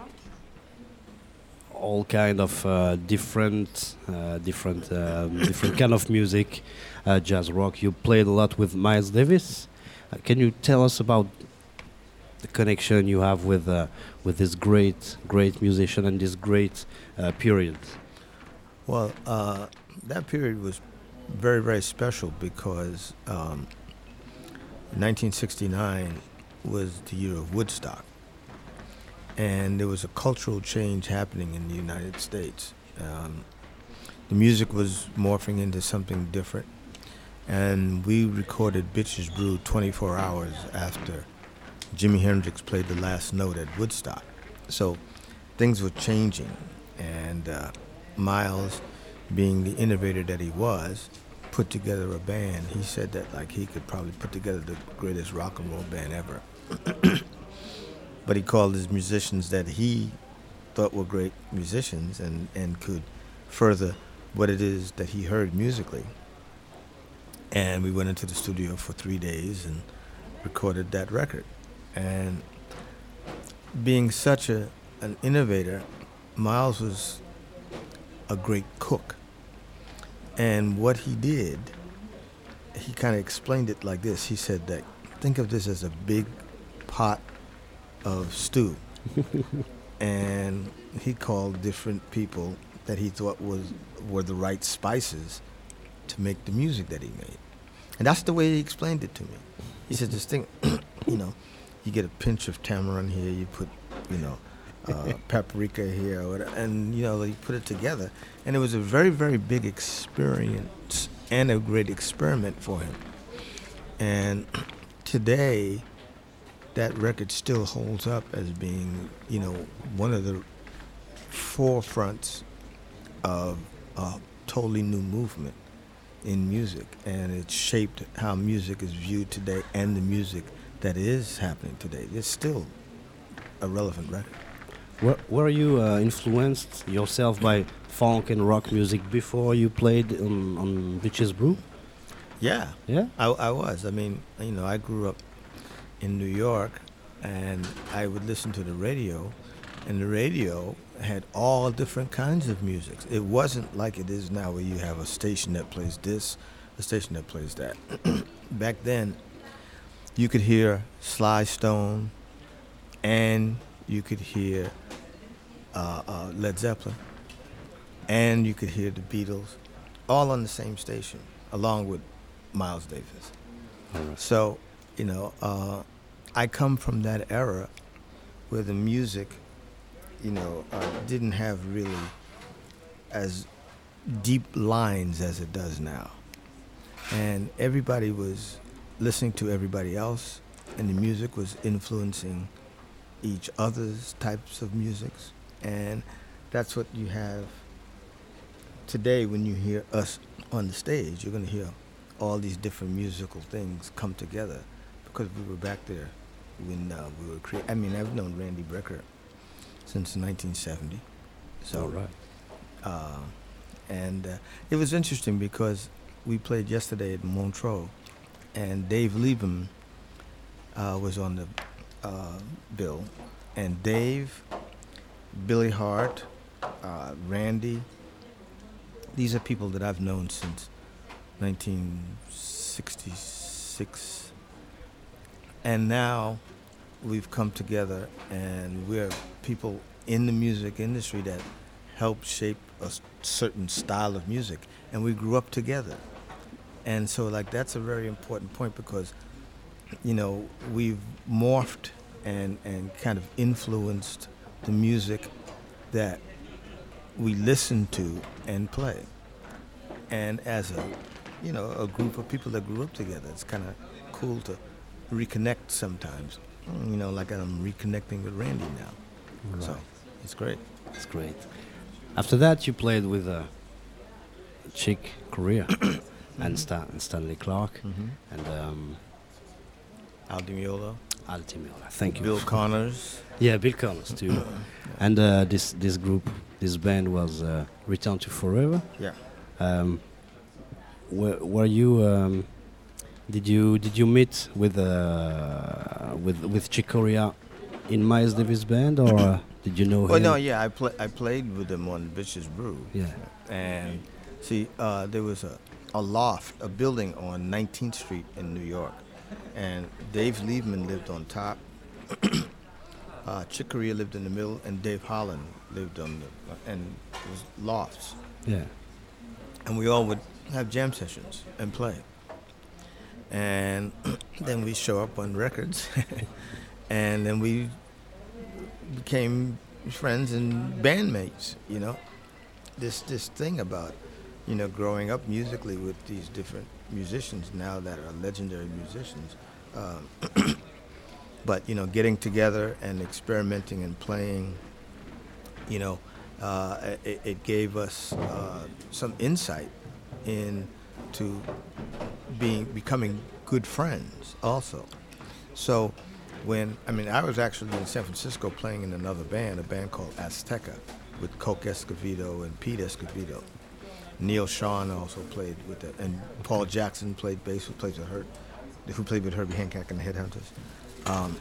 all kind of uh, different, uh, different, um, different kind of music, uh, jazz rock. You played a lot with Miles Davis. Uh, can you tell us about the connection you have with uh, with this great, great musician and this great uh, period? Well, uh, that period was very, very special because um, nineteen sixty-nine was the year of Woodstock. And there was a cultural change happening in the United States. Um, the music was morphing into something different. And we recorded Bitches Brew twenty-four hours after Jimi Hendrix played the last note at Woodstock. So things were changing. And uh, Miles, being the innovator that he was, put together a band. He said that like he could probably put together the greatest rock and roll band ever. But he called his musicians that he thought were great musicians and, and could further what it is that he heard musically. And we went into the studio for three days and recorded that record. And being such a an innovator, Miles was a great cook. And what he did, he kind of explained it like this. He said that, think of this as a big pot of stew. And he called different people that he thought was were the right spices to make the music that he made. And that's the way he explained it to me. He said, this thing, you know, you get a pinch of tamarind here, you put, you know, uh, paprika here, or whatever, and, you know, you put it together. And it was a very, very big experience and a great experiment for him. And today, that record still holds up as being, you know, one of the forefronts of a totally new movement in music, and it shaped how music is viewed today and the music that is happening today. It's still a relevant record. Were, were you uh, influenced yourself by funk and rock music before you played on, on Bitches Brew? Yeah, Yeah? I, I was. I mean, you know, I grew up in New York, and I would listen to the radio, and the radio had all different kinds of music. It wasn't like it is now, where you have a station that plays this, a station that plays that. Back then, you could hear Sly Stone, and you could hear uh, uh, Led Zeppelin, and you could hear the Beatles, all on the same station, along with Miles Davis. All right. So, you know, uh, I come from that era where the music, you know, uh, didn't have really as deep lines as it does now. And everybody was listening to everybody else, and the music was influencing each other's types of musics. And that's what you have today when you hear us on the stage. You're going to hear all these different musical things come together because we were back there when uh, we were creating. I mean, I've known Randy Brecker since nineteen seventy. So, All right. uh, and uh, it was interesting because we played yesterday at Montreux, and Dave Liebman uh, was on the uh, bill, and Dave, Billy Hart, uh, Randy. These are people that I've known since nineteen sixty-six, and now we've come together, and we're people in the music industry that help shape a s- certain style of music, and we grew up together. And so, like, that's a very important point because, you know, we've morphed and, and kind of influenced the music that we listen to and play. And as a, you know, a group of people that grew up together, it's kind of cool to reconnect sometimes. You know, like I'm reconnecting with Randy now. So, Right. it's great. That's great. After that, you played with uh, Chick Corea and, Stan- and Stanley Clark Mm-hmm. and um, Al Di Meola, Al Di Meola. Thank you. Bill Connors. Yeah, Bill Connors too. And uh, this this group, this band was uh, Return to Forever. Yeah. Um, were, were you? Um, did you did you meet with uh, with with Chick Corea in Miles Davis band, or uh, did you know Well, him? no, yeah, I play, I played with them on Bitches Brew. Yeah. And see, uh, there was a, a loft, a building on nineteenth Street in New York, and Dave Liebman lived on top. uh, Chick Corea lived in the middle, and Dave Holland lived on the, and it was lofts. Yeah. And we all would have jam sessions and play. And then we show up on records, and then we became friends and bandmates, you know. This this thing about, you know, growing up musically with these different musicians now that are legendary musicians. Um, but, you know, getting together and experimenting and playing, you know, uh, it, it gave us uh, some insight into being becoming good friends also. So when, I mean, I was actually in San Francisco playing in another band, a band called Azteca, with Coke Escovedo and Pete Escovedo. Neil Sean also played with it, and Paul Jackson played bass, who plays with Hurt, who played with Herbie Hancock and the Headhunters. Um,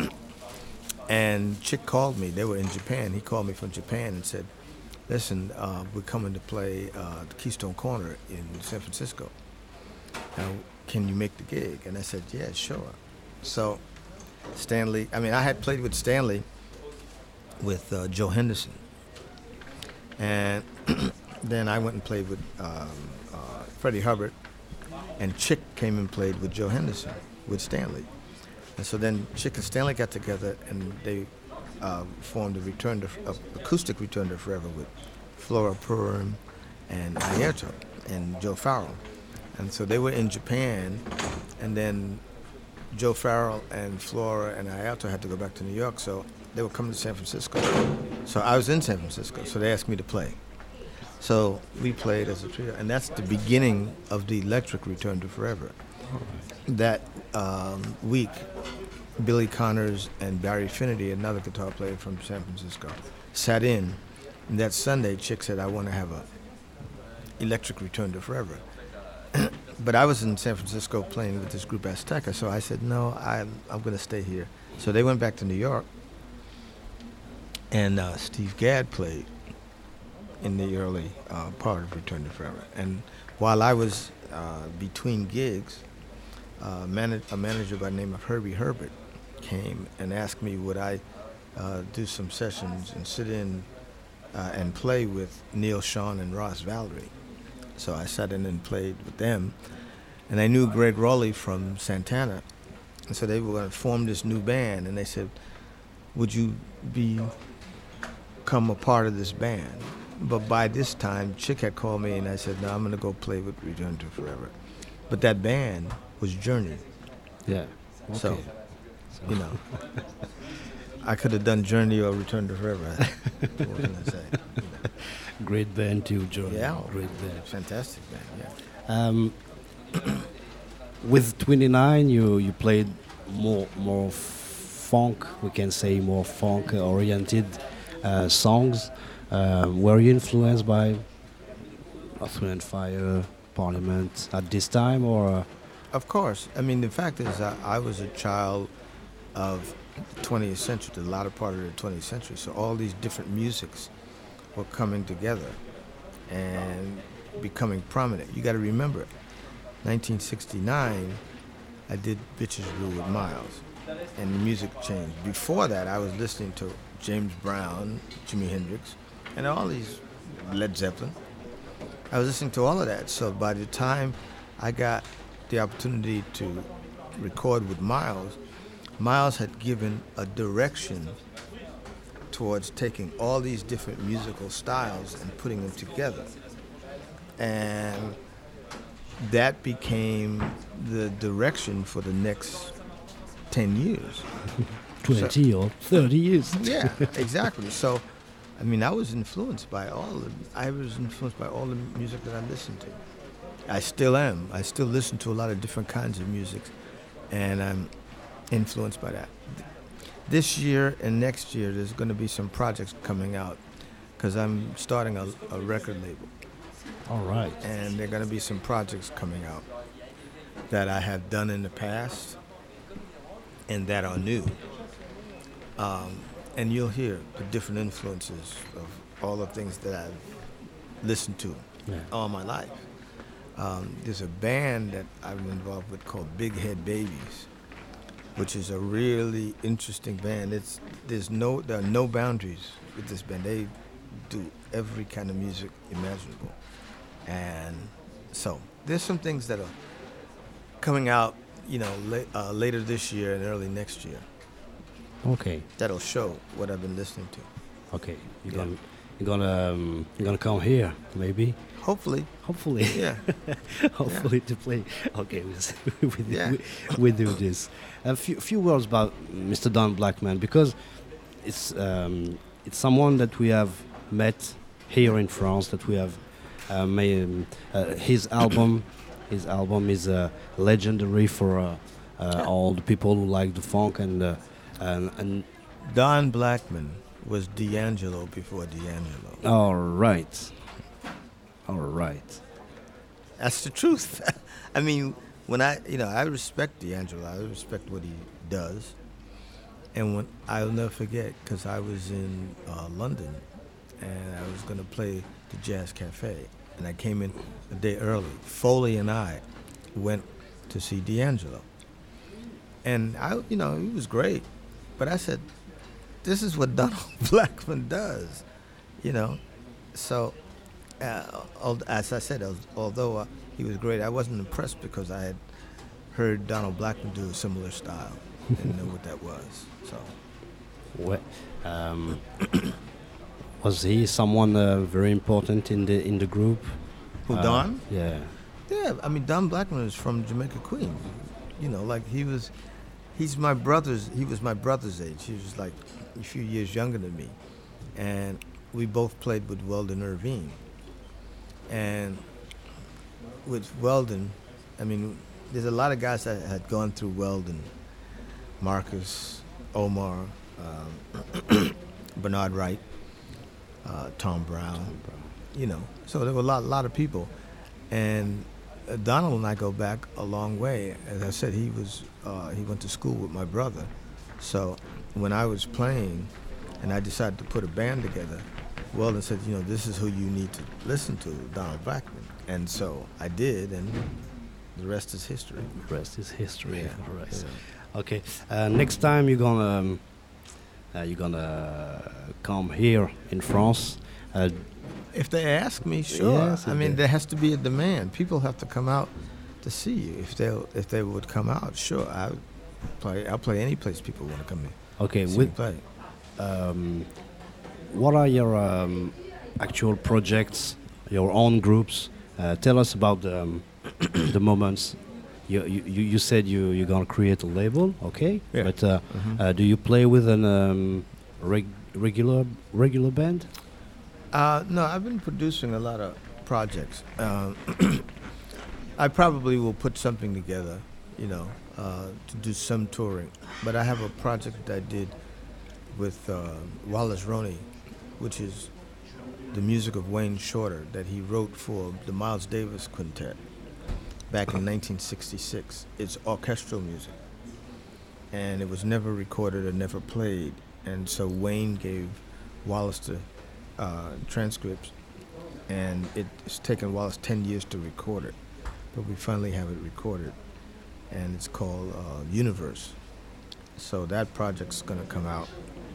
and Chick called me. They were in Japan. He called me from Japan and said, "Listen, uh, we're coming to play uh, the Keystone Corner in San Francisco. Now, can you make the gig?" And I said, "Yeah, sure." So Stanley, I mean, I had played with Stanley with uh, Joe Henderson. And then I went and played with um, uh, Freddie Hubbard, and Chick came and played with Joe Henderson, with Stanley. And so then Chick and Stanley got together, and they uh, formed a return to, uh, acoustic Return to Forever with Flora Purim and Airto and Joe Farrell. And so they were in Japan, and then Joe Farrell and Flora and Ayato had to go back to New York, so they were coming to San Francisco. So I was in San Francisco, so they asked me to play. So we played as a trio, and that's the beginning of the Electric Return to Forever. That um, week, Billy Connors and Barry Finity, another guitar player from San Francisco, sat in. And that Sunday, Chick said, I want to have a Electric Return to Forever. But I was in San Francisco playing with this group Azteca, so I said, no, I'm, I'm going to stay here. So they went back to New York, and uh, Steve Gadd played in the early uh, part of Return to Forever. And while I was uh, between gigs, uh, manage, a manager by the name of Herbie Herbert came and asked me would I uh, do some sessions and sit in uh, and play with Neil Schon and Ross Valerie. So I sat in and played with them. And I knew Greg Rowley from Santana. And so they were going to form this new band. And they said, would you be, become a part of this band? But by this time, Chick had called me and I said, no, I'm going to go play with Return to Forever. But that band was Journey. Yeah. Okay. So, you know, I could have done Journey or Return to Forever. What can I say? You know. Great band too, Johnny. Yeah. Great band. Fantastic band, yeah. Um, with twenty-nine, you you played more more funk. We can say more funk oriented uh, songs. Uh, were you influenced by Earth, Wind and Fire, Parliament at this time, or? Uh, Of course. I mean, the fact is, I, I was a child of the twentieth century, the latter part of the twentieth century. So all these different musics were coming together and becoming prominent. You got to remember, nineteen sixty-nine, I did Bitches Brew with Miles, and the music changed. Before that, I was listening to James Brown, Jimi Hendrix, and all these, Led Zeppelin. I was listening to all of that. So by the time I got the opportunity to record with Miles, Miles had given a direction towards taking all these different musical styles and putting them together. And that became the direction for the next ten years. twenty so, or thirty years. Yeah, exactly. So, I mean, I was influenced by all the, I was influenced by all the music that I listened to. I still am. I still listen to a lot of different kinds of music, and I'm influenced by that. This year and next year, there's going to be some projects coming out because I'm starting a, a record label. All right. And there are going to be some projects coming out that I have done in the past and that are new. Um, and you'll hear the different influences of all the things that I've listened to yeah. all my life. Um, there's a band that I'm involved with called Big Head Babies, which is a really interesting band. It's there's no there are no boundaries with this band. They do every kind of music imaginable, and so there's some things that are coming out, you know, la- uh, later this year and early next year. Okay. That'll show what I've been listening to. Okay. You're Yeah. gonna you're gonna um, you're gonna come here maybe. Hopefully. Hopefully. Yeah. Hopefully to play. Okay, we we, Yeah. we, we do this. A few few words about Mister Don Blackman, because it's um, it's someone that we have met here in France, that we have uh, made. Um, uh, his album, his album is uh, legendary for uh, uh, all the people who like the funk and uh, and, and Don Blackman was D'Angelo before D'Angelo. all right, all right. That's the truth. I mean, when I, you know, I respect D'Angelo. I respect what he does. And when I'll never forget, because I was in uh, London, and I was going to play the Jazz Cafe, and I came in a day early. Foley and I went to see D'Angelo, and I, you know, he was great. But I said, this is what Donald Blackman does, you know. So, uh, as I said, although uh, he was great, I wasn't impressed because I had heard Donald Blackman do a similar style and know what that was. So, What, um, was he someone uh, very important in the in the group? who Uh, Don? Yeah. Yeah, I mean, Don Blackman was from Jamaica, Queens. You know, like he was, he's my brother's. He was my brother's age. He was like a few years younger than me, and we both played with Weldon Irvine. And with Weldon, I mean, there's a lot of guys that had gone through Weldon, Marcus, Omar, um, Bernard Wright, uh, Tom Brown, you know. So there were a lot, lot of people, and uh, Donald and I go back a long way. As I said, he was uh, he went to school with my brother, so when I was playing, and I decided to put a band together, Weldon said, you know, this is who you need to listen to, Donald Blackman, and so I did, and the rest is history. The rest is history. Yeah. Right. Yeah. Okay. Uh, next time you're gonna um, uh, you're gonna come here in France. Uh, If they ask me, sure. Yes, I if mean, they- there has to be a demand. People have to come out to see you. If they if they would come out, sure. I would play. I'll play any place people want to come in. okay. See me With play. um, what are your um, actual projects, your own groups? Uh, tell us about the, um, the moments. You, you you you said you you're gonna create a label, okay? Yeah. But uh, Mhm. uh, do you play with an um, reg- regular regular band? Uh, no, I've been producing a lot of projects. Um, I probably will put something together, you know, uh, to do some touring. But I have a project that I did with uh, Wallace Roney, which is the music of Wayne Shorter that he wrote for the Miles Davis Quintet back in nineteen sixty-six. It's orchestral music, and it was never recorded or never played. And so Wayne gave Wallace the uh, transcripts, and it's taken Wallace ten years to record it, but we finally have it recorded, and it's called uh, Universe. So that project's gonna come out.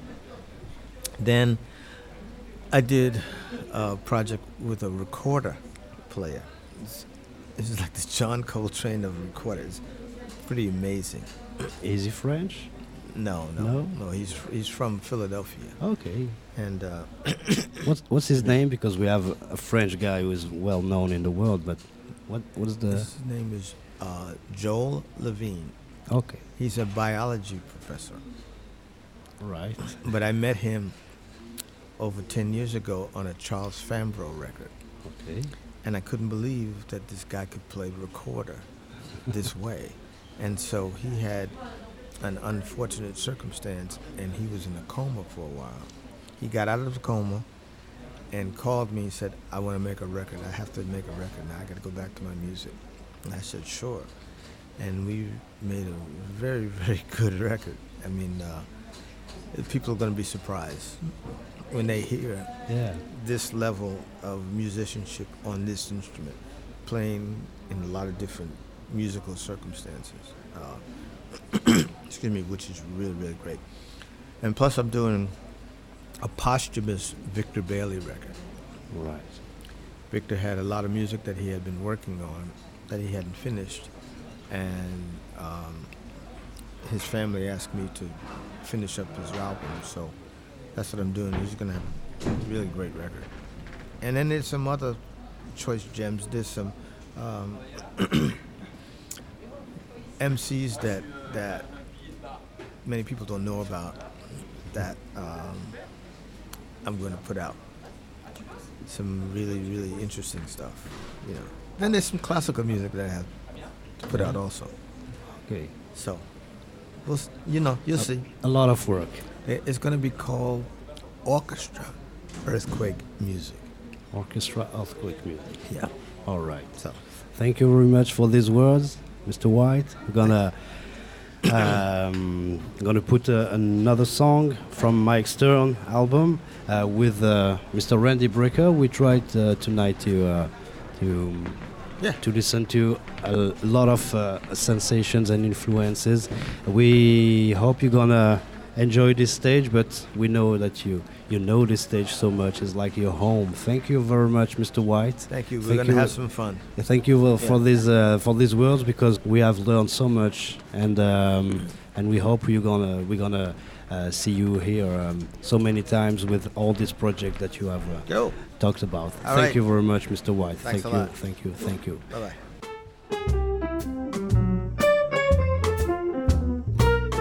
Then I did a project with a recorder player. It's, it's like the John Coltrane of recorders. Pretty amazing. Easy French? No, no, No? no. He's he's from Philadelphia, Okay. and uh, What's what's his name? Because we have a French guy who is well known in the world, but what what is the? his name is uh, Joel Levine. Okay. He's a biology professor, Right. but I met him over ten years ago on a Charles Fambro record, Okay. and I couldn't believe that this guy could play recorder this way. And so he had an unfortunate circumstance, and he was in a coma for a while. He got out of the coma and called me and said, I want to make a record. I have to make a record now. I got to go back to my music. And I said, sure. And we made a very, very good record. I mean, uh, people are going to be surprised when they hear Yeah. this level of musicianship on this instrument, playing in a lot of different musical circumstances. Uh, excuse me, which is really, really great. And plus I'm doing a posthumous Victor Bailey record. Right. Victor had a lot of music that he had been working on that he hadn't finished, and um, his family asked me to finish up his album, so that's what I'm doing. He's gonna have a really great record. And then there's some other choice gems. There's some um, M Cs that that many people don't know about that um, I'm going to put out. Some really, really interesting stuff, you know. Then there's some classical music that I have to put out also. Okay. So, we'll, s- you know, you'll see. A lot of work. It- It's going to be called Orchestra Earthquake Music. Orchestra earthquake music. Yeah. All right. So, Thank you very much for these words, Mister White. We're gonna um, gonna put uh, another song from Mike Stern album uh, with uh, Mister Randy Brecker. We tried uh, tonight to uh, to Yeah. to listen to a lot of uh, sensations and influences. We hope you're gonna enjoy this stage, but we know that you you know this stage so much. It's like your home. Thank you very much, Mister White. thank you. We're Thank going to you. have some fun. Yeah, Thank you uh, for Yeah. these uh, for these words, because we have learned so much, and um, and we hope you're gonna we're gonna uh, see you here um, so many times with all this project that you have uh, Go. talked about. All thank right. you very much, Mister White. Thanks thank a you, lot. thank you, thank you. Bye-bye.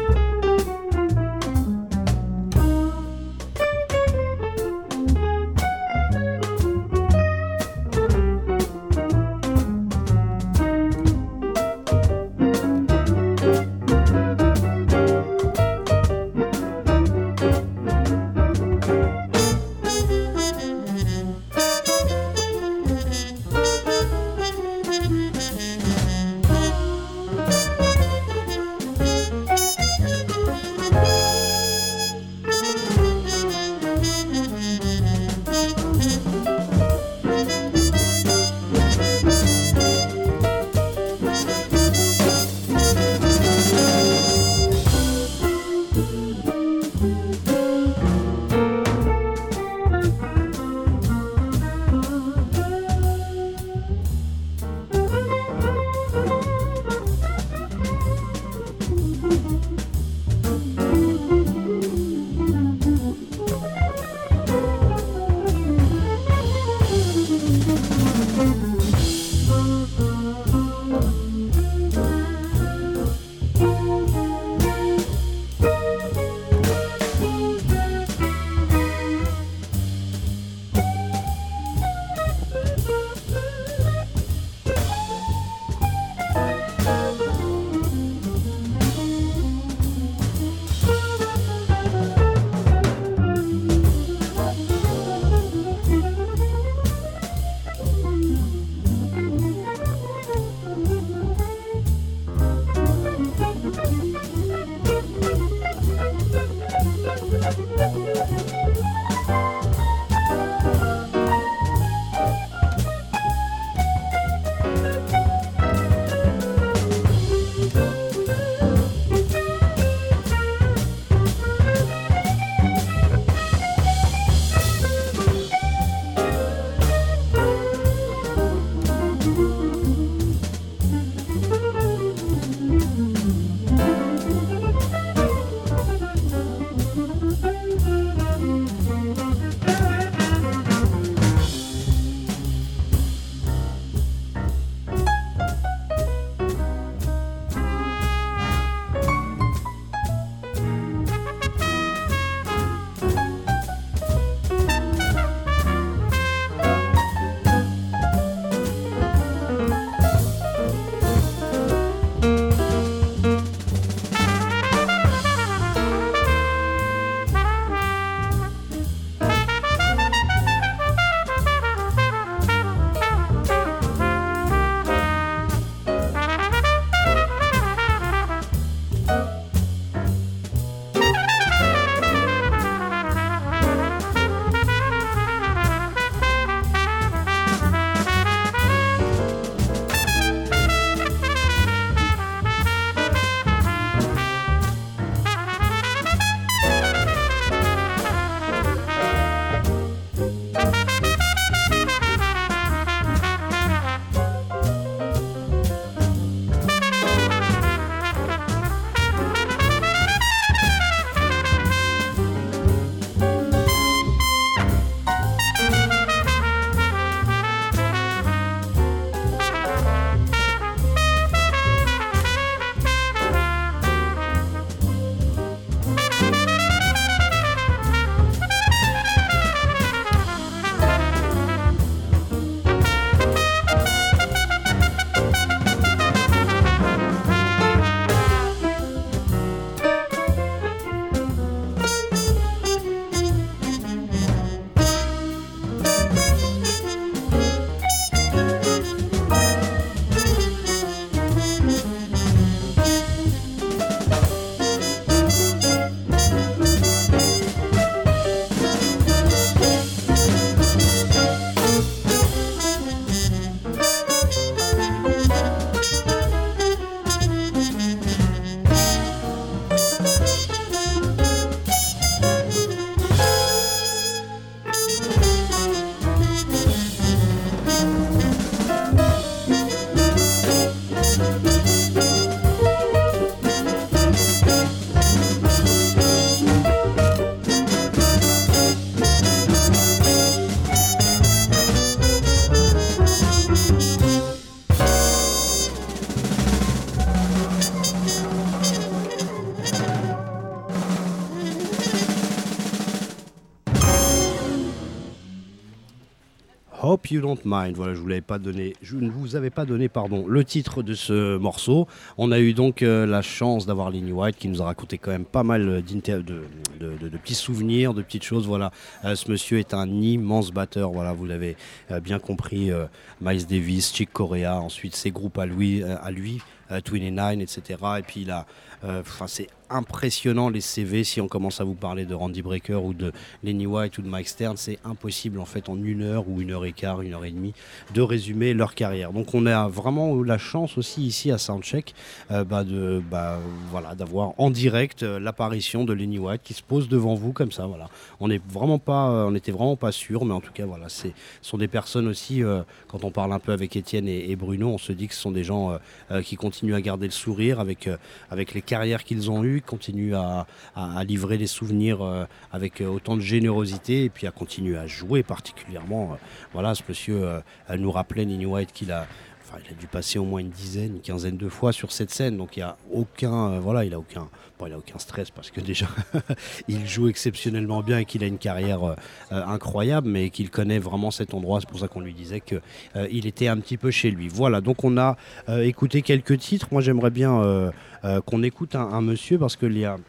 Hope You Don't Mind. Voilà, je vous l'avais pas donné, je ne vous avais pas donné, pardon, le titre de ce morceau. On a eu donc euh, la chance d'avoir Lenny White qui nous a raconté quand même pas mal d'inter- de, de, de, de petits souvenirs, de petites choses. Voilà, euh, ce monsieur est un immense batteur. Voilà, vous l'avez euh, bien compris. Euh, Miles Davis, Chick Corea, ensuite ses groupes à lui, euh, à lui. Euh, vingt-neuf, et cetera. Et puis il a, enfin euh, c'est impressionnant les C V. Si on commence à vous parler de Randy Brecker ou de Lenny White ou de Mike Stern, c'est impossible en fait en une heure ou une heure et quart, une heure et demie de résumer leur carrière. Donc on a vraiment eu la chance aussi ici à Soundcheck euh, bah de, bah, voilà, d'avoir en direct euh, l'apparition de Lenny White qui se pose devant vous comme ça. Voilà. On n'est vraiment pas, euh, on n'était vraiment pas sûr, mais en tout cas voilà, c'est ce sont des personnes aussi. Euh, quand on parle un peu avec Étienne et, et Bruno, on se dit que ce sont des gens euh, euh, qui continuent à garder le sourire avec, euh, avec les carrières qu'ils ont eues, continuent à, à, à livrer des souvenirs euh, avec euh, autant de générosité et puis à continuer à jouer particulièrement. Euh, voilà, ce monsieur euh, nous rappelait, Lenny White, qu'il a Enfin, il a dû passer au moins une dizaine, une quinzaine de fois sur cette scène, donc il y a aucun, euh, voilà, il a aucun, bon, il a aucun stress parce que déjà il joue exceptionnellement bien et qu'il a une carrière euh, euh, incroyable, mais qu'il connaît vraiment cet endroit. C'est pour ça qu'on lui disait que euh, il était un petit peu chez lui. Voilà, donc on a euh, écouté quelques titres. Moi, j'aimerais bien euh, euh, qu'on écoute un, un monsieur parce que il y a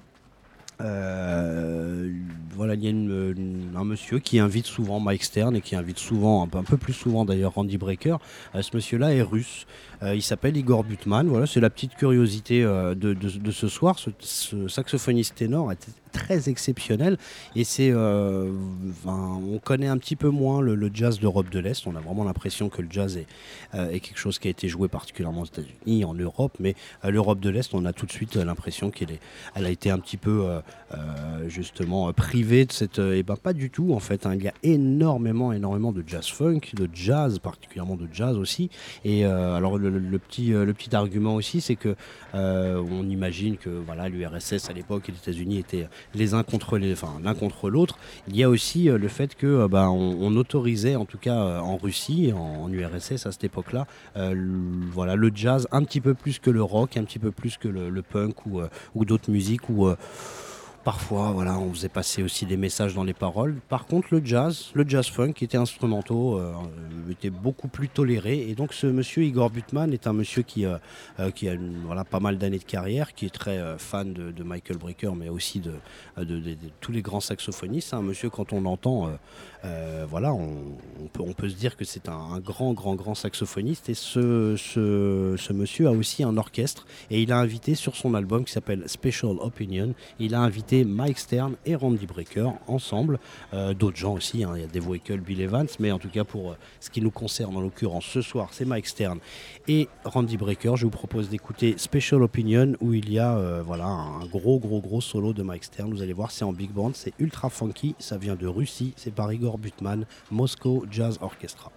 Euh, voilà, il y a une, une, un monsieur qui invite souvent Mike Stern et qui invite souvent, un peu, un peu plus souvent d'ailleurs, Randy Brecker. Euh, ce monsieur-là est russe. Euh, il s'appelle Igor Butman. Voilà, c'est la petite curiosité euh, de, de, de ce soir. Ce, ce saxophoniste ténor est très exceptionnel et c'est, euh, ben, on connaît un petit peu moins le, le jazz d'Europe de l'Est. On a vraiment l'impression que le jazz est, euh, est quelque chose qui a été joué particulièrement aux États-Unis, en Europe, mais euh, l'Europe de l'Est, on a tout de suite l'impression qu'elle est, elle a été un petit peu euh, euh, justement privée de cette. Et ben pas du tout en fait. Hein. Il y a énormément, énormément de jazz funk, de jazz, particulièrement de jazz aussi. Et euh, alors le, le, le petit, euh, le petit argument aussi, c'est que euh, on imagine que voilà, l'U R S S à l'époque et les États-Unis étaient les uns contre les, enfin l'un contre l'autre. Il y a aussi euh, le fait que euh, bah, on, on autorisait, en tout cas euh, en Russie, en, en U R S S à cette époque-là, euh, le, voilà, le jazz un petit peu plus que le rock, un petit peu plus que le, le punk ou, euh, ou d'autres musiques où euh, parfois, voilà, on faisait passer aussi des messages dans les paroles. Par contre, le jazz, le jazz funk, qui était instrumentaux, euh, était beaucoup plus toléré. Et donc, ce monsieur Igor Butman est un monsieur qui, euh, euh, qui a une, voilà, pas mal d'années de carrière, qui est très euh, fan de, de Michael Brecker, mais aussi de, de, de, de, de tous les grands saxophonistes. Un monsieur, quand on l'entend, euh, euh, voilà, on, on, peut, on peut se dire que c'est un, un grand, grand, grand saxophoniste. Et ce, ce, ce monsieur a aussi un orchestre. Et il a invité sur son album qui s'appelle Special Opinion, il a invité Mike Stern et Randy Brecker ensemble, euh, d'autres gens aussi, hein. Il y a Dave Weckl, Bill Evans, mais en tout cas pour euh, ce qui nous concerne en l'occurrence ce soir, c'est Mike Stern et Randy Brecker. Je vous propose d'écouter Special Opinion où il y a euh, voilà, un gros gros gros solo de Mike Stern. Vous allez voir, c'est en big band, c'est ultra funky, ça vient de Russie, c'est par Igor Butman, Moscow Jazz Orchestra.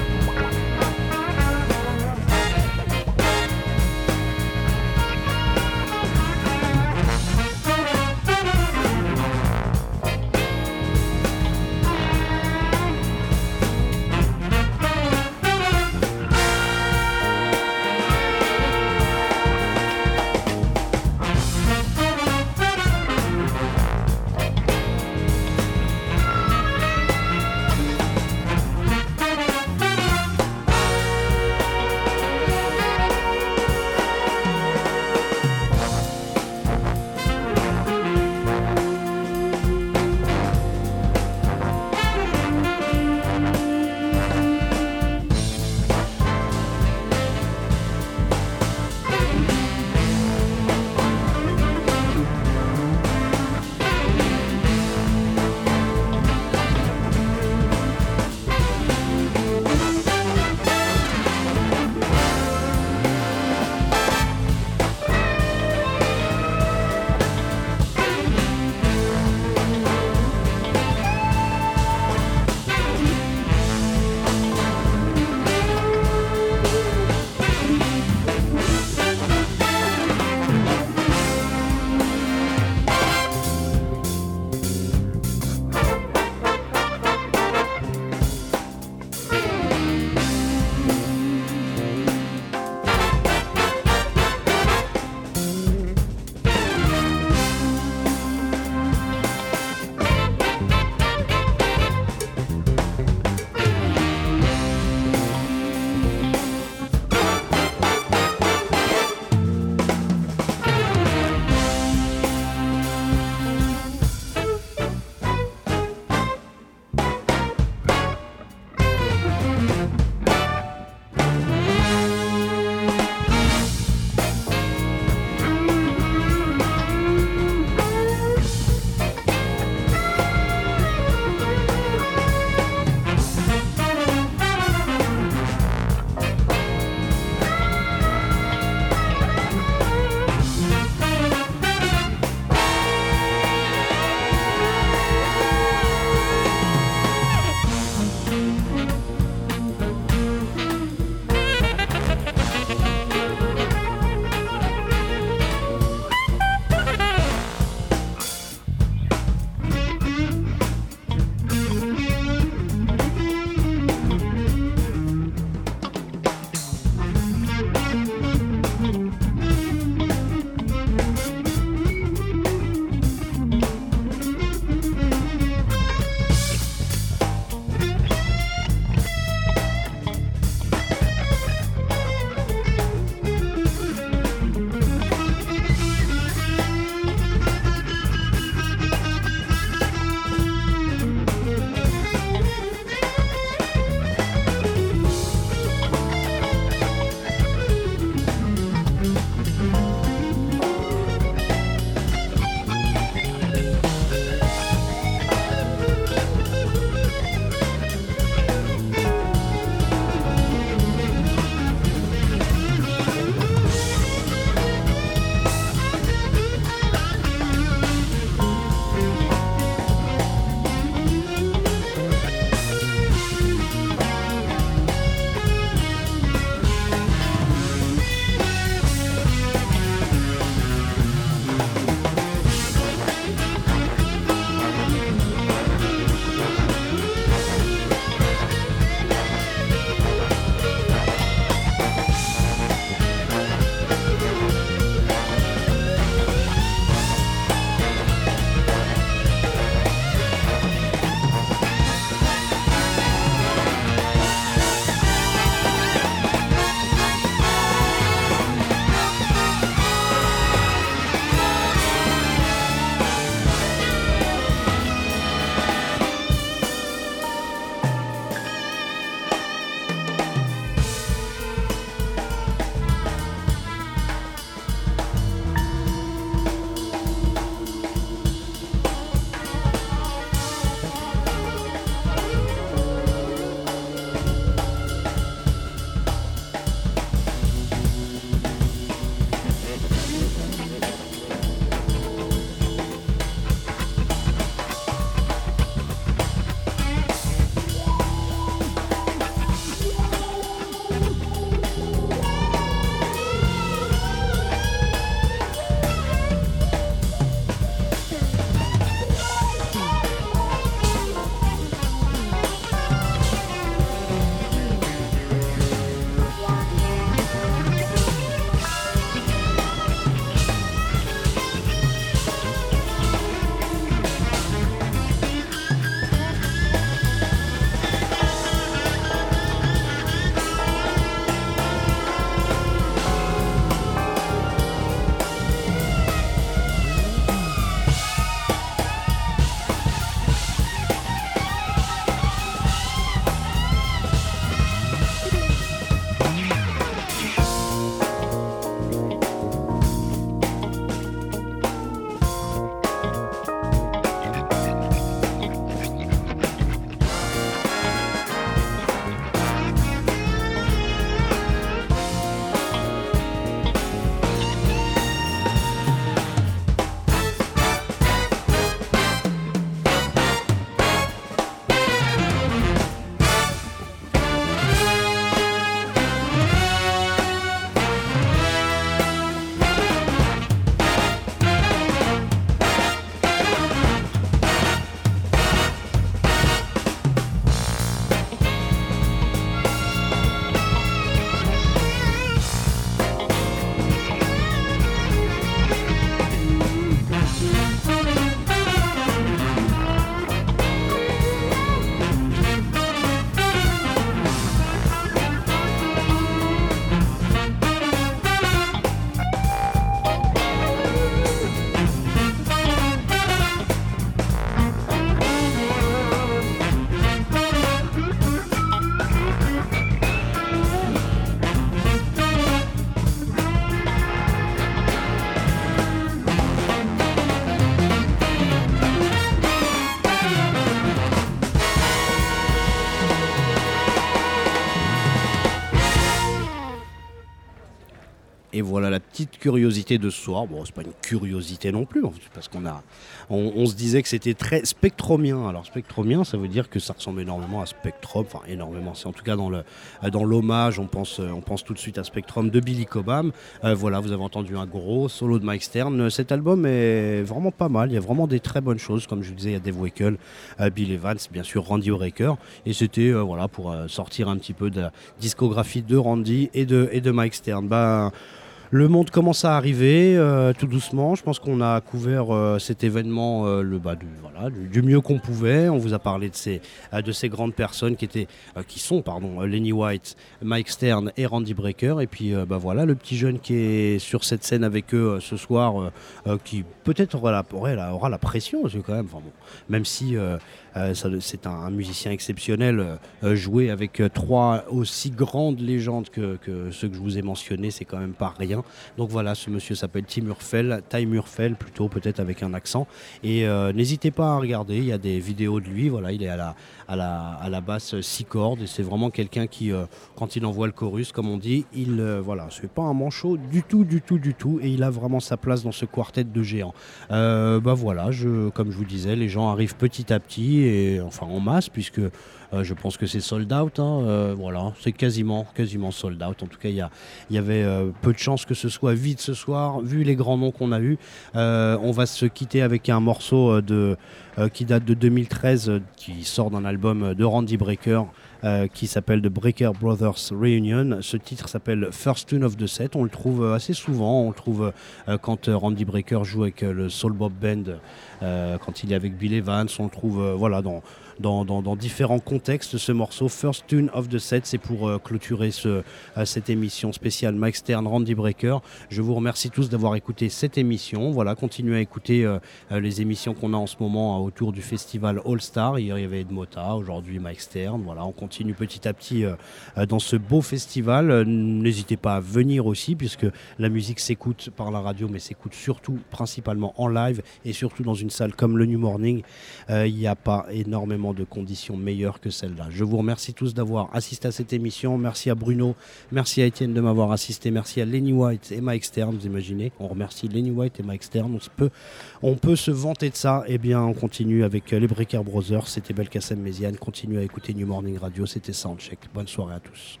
Et voilà la petite curiosité de ce soir. Bon, c'est pas une curiosité non plus, parce qu'on a, on, on se disait que c'était très spectromien. Alors spectromien, ça veut dire que ça ressemble énormément à Spectrum, enfin énormément. C'est en tout cas dans le, dans l'hommage, on pense, on pense tout de suite à Spectrum de Billy Cobham. Euh, voilà, vous avez entendu un gros solo de Mike Stern. Cet album est vraiment pas mal. Il y a vraiment des très bonnes choses, comme je vous disais, il y a Dave Weckl, euh, Bill Evans, bien sûr Randy Brecker. Et c'était euh, voilà pour euh, sortir un petit peu de la discographie de Randy et de et de Mike Stern. Ben, le monde commence à arriver euh, tout doucement. Je pense qu'on a couvert euh, cet événement euh, le, bah, du, voilà, du, du mieux qu'on pouvait. On vous a parlé de ces, euh, de ces grandes personnes qui, étaient, euh, qui sont pardon, Lenny White, Mike Stern et Randy Brecker. Et puis euh, bah, voilà, le petit jeune qui est sur cette scène avec eux euh, ce soir, euh, euh, qui peut-être aura la, aura, la, aura la pression aussi quand même. Enfin, bon, même si euh, euh, ça, c'est un, un musicien exceptionnel, euh, jouer avec euh, trois aussi grandes légendes que, que ceux que je vous ai mentionnés, c'est quand même pas rien. Donc voilà, ce monsieur s'appelle Tim Murfeld, Ty Murfeld plutôt, peut-être avec un accent. Et euh, n'hésitez pas à regarder, il y a des vidéos de lui. Voilà, il est à la, à la, à la basse six cordes et c'est vraiment quelqu'un qui, euh, quand il envoie le chorus, comme on dit, il, euh, voilà, c'est pas un manchot du tout, du tout, du tout. Et il a vraiment sa place dans ce quartet de géants. Euh, bah voilà, je, comme je vous disais, les gens arrivent petit à petit et enfin en masse, puisque Euh, je pense que c'est sold out, hein. euh, voilà, c'est quasiment, quasiment sold out. En tout cas, il y, y avait euh, peu de chances que ce soit vide ce soir, vu les grands noms qu'on a eus. Euh, on va se quitter avec un morceau de, euh, qui date de deux mille treize, euh, qui sort d'un album de Randy Brecker, euh, qui s'appelle The Brecker Brothers Reunion. Ce titre s'appelle First Tune of the Set. On le trouve assez souvent, on le trouve euh, quand Randy Brecker joue avec euh, le Soul Bob Band, euh, quand il est avec Bill Evans, on le trouve euh, voilà, dans... Dans, dans, dans différents contextes, ce morceau First Tune of the Set, c'est pour euh, clôturer ce, euh, cette émission spéciale Mike Stern, Randy Brecker. Je vous remercie tous d'avoir écouté cette émission. Voilà, continuez à écouter euh, euh, les émissions qu'on a en ce moment euh, autour du festival All Star. Hier il y avait Ed Mota, aujourd'hui Mike Stern. Voilà, on continue petit à petit euh, euh, dans ce beau festival. Euh, n'hésitez pas à venir aussi, puisque la musique s'écoute par la radio, mais s'écoute surtout principalement en live et surtout dans une salle comme le New Morning. Euh, il n'y a pas énormément de conditions meilleures que celle-là. Je vous remercie tous d'avoir assisté à cette émission. Merci à Bruno, merci à Étienne de m'avoir assisté, merci à Lenny White et Mike Stern. Vous imaginez, on remercie Lenny White et Mike Stern. On, se peut, on peut se vanter de ça. Eh bien, on continue avec les Brecker Brothers. C'était Belkacem Méziane. Continuez à écouter New Morning Radio. C'était Soundcheck. Bonne soirée à tous.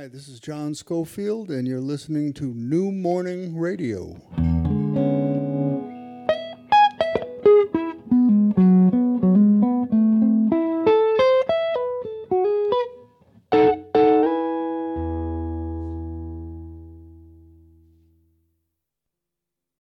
Hi, this is John Schofield, and you're listening to New Morning Radio.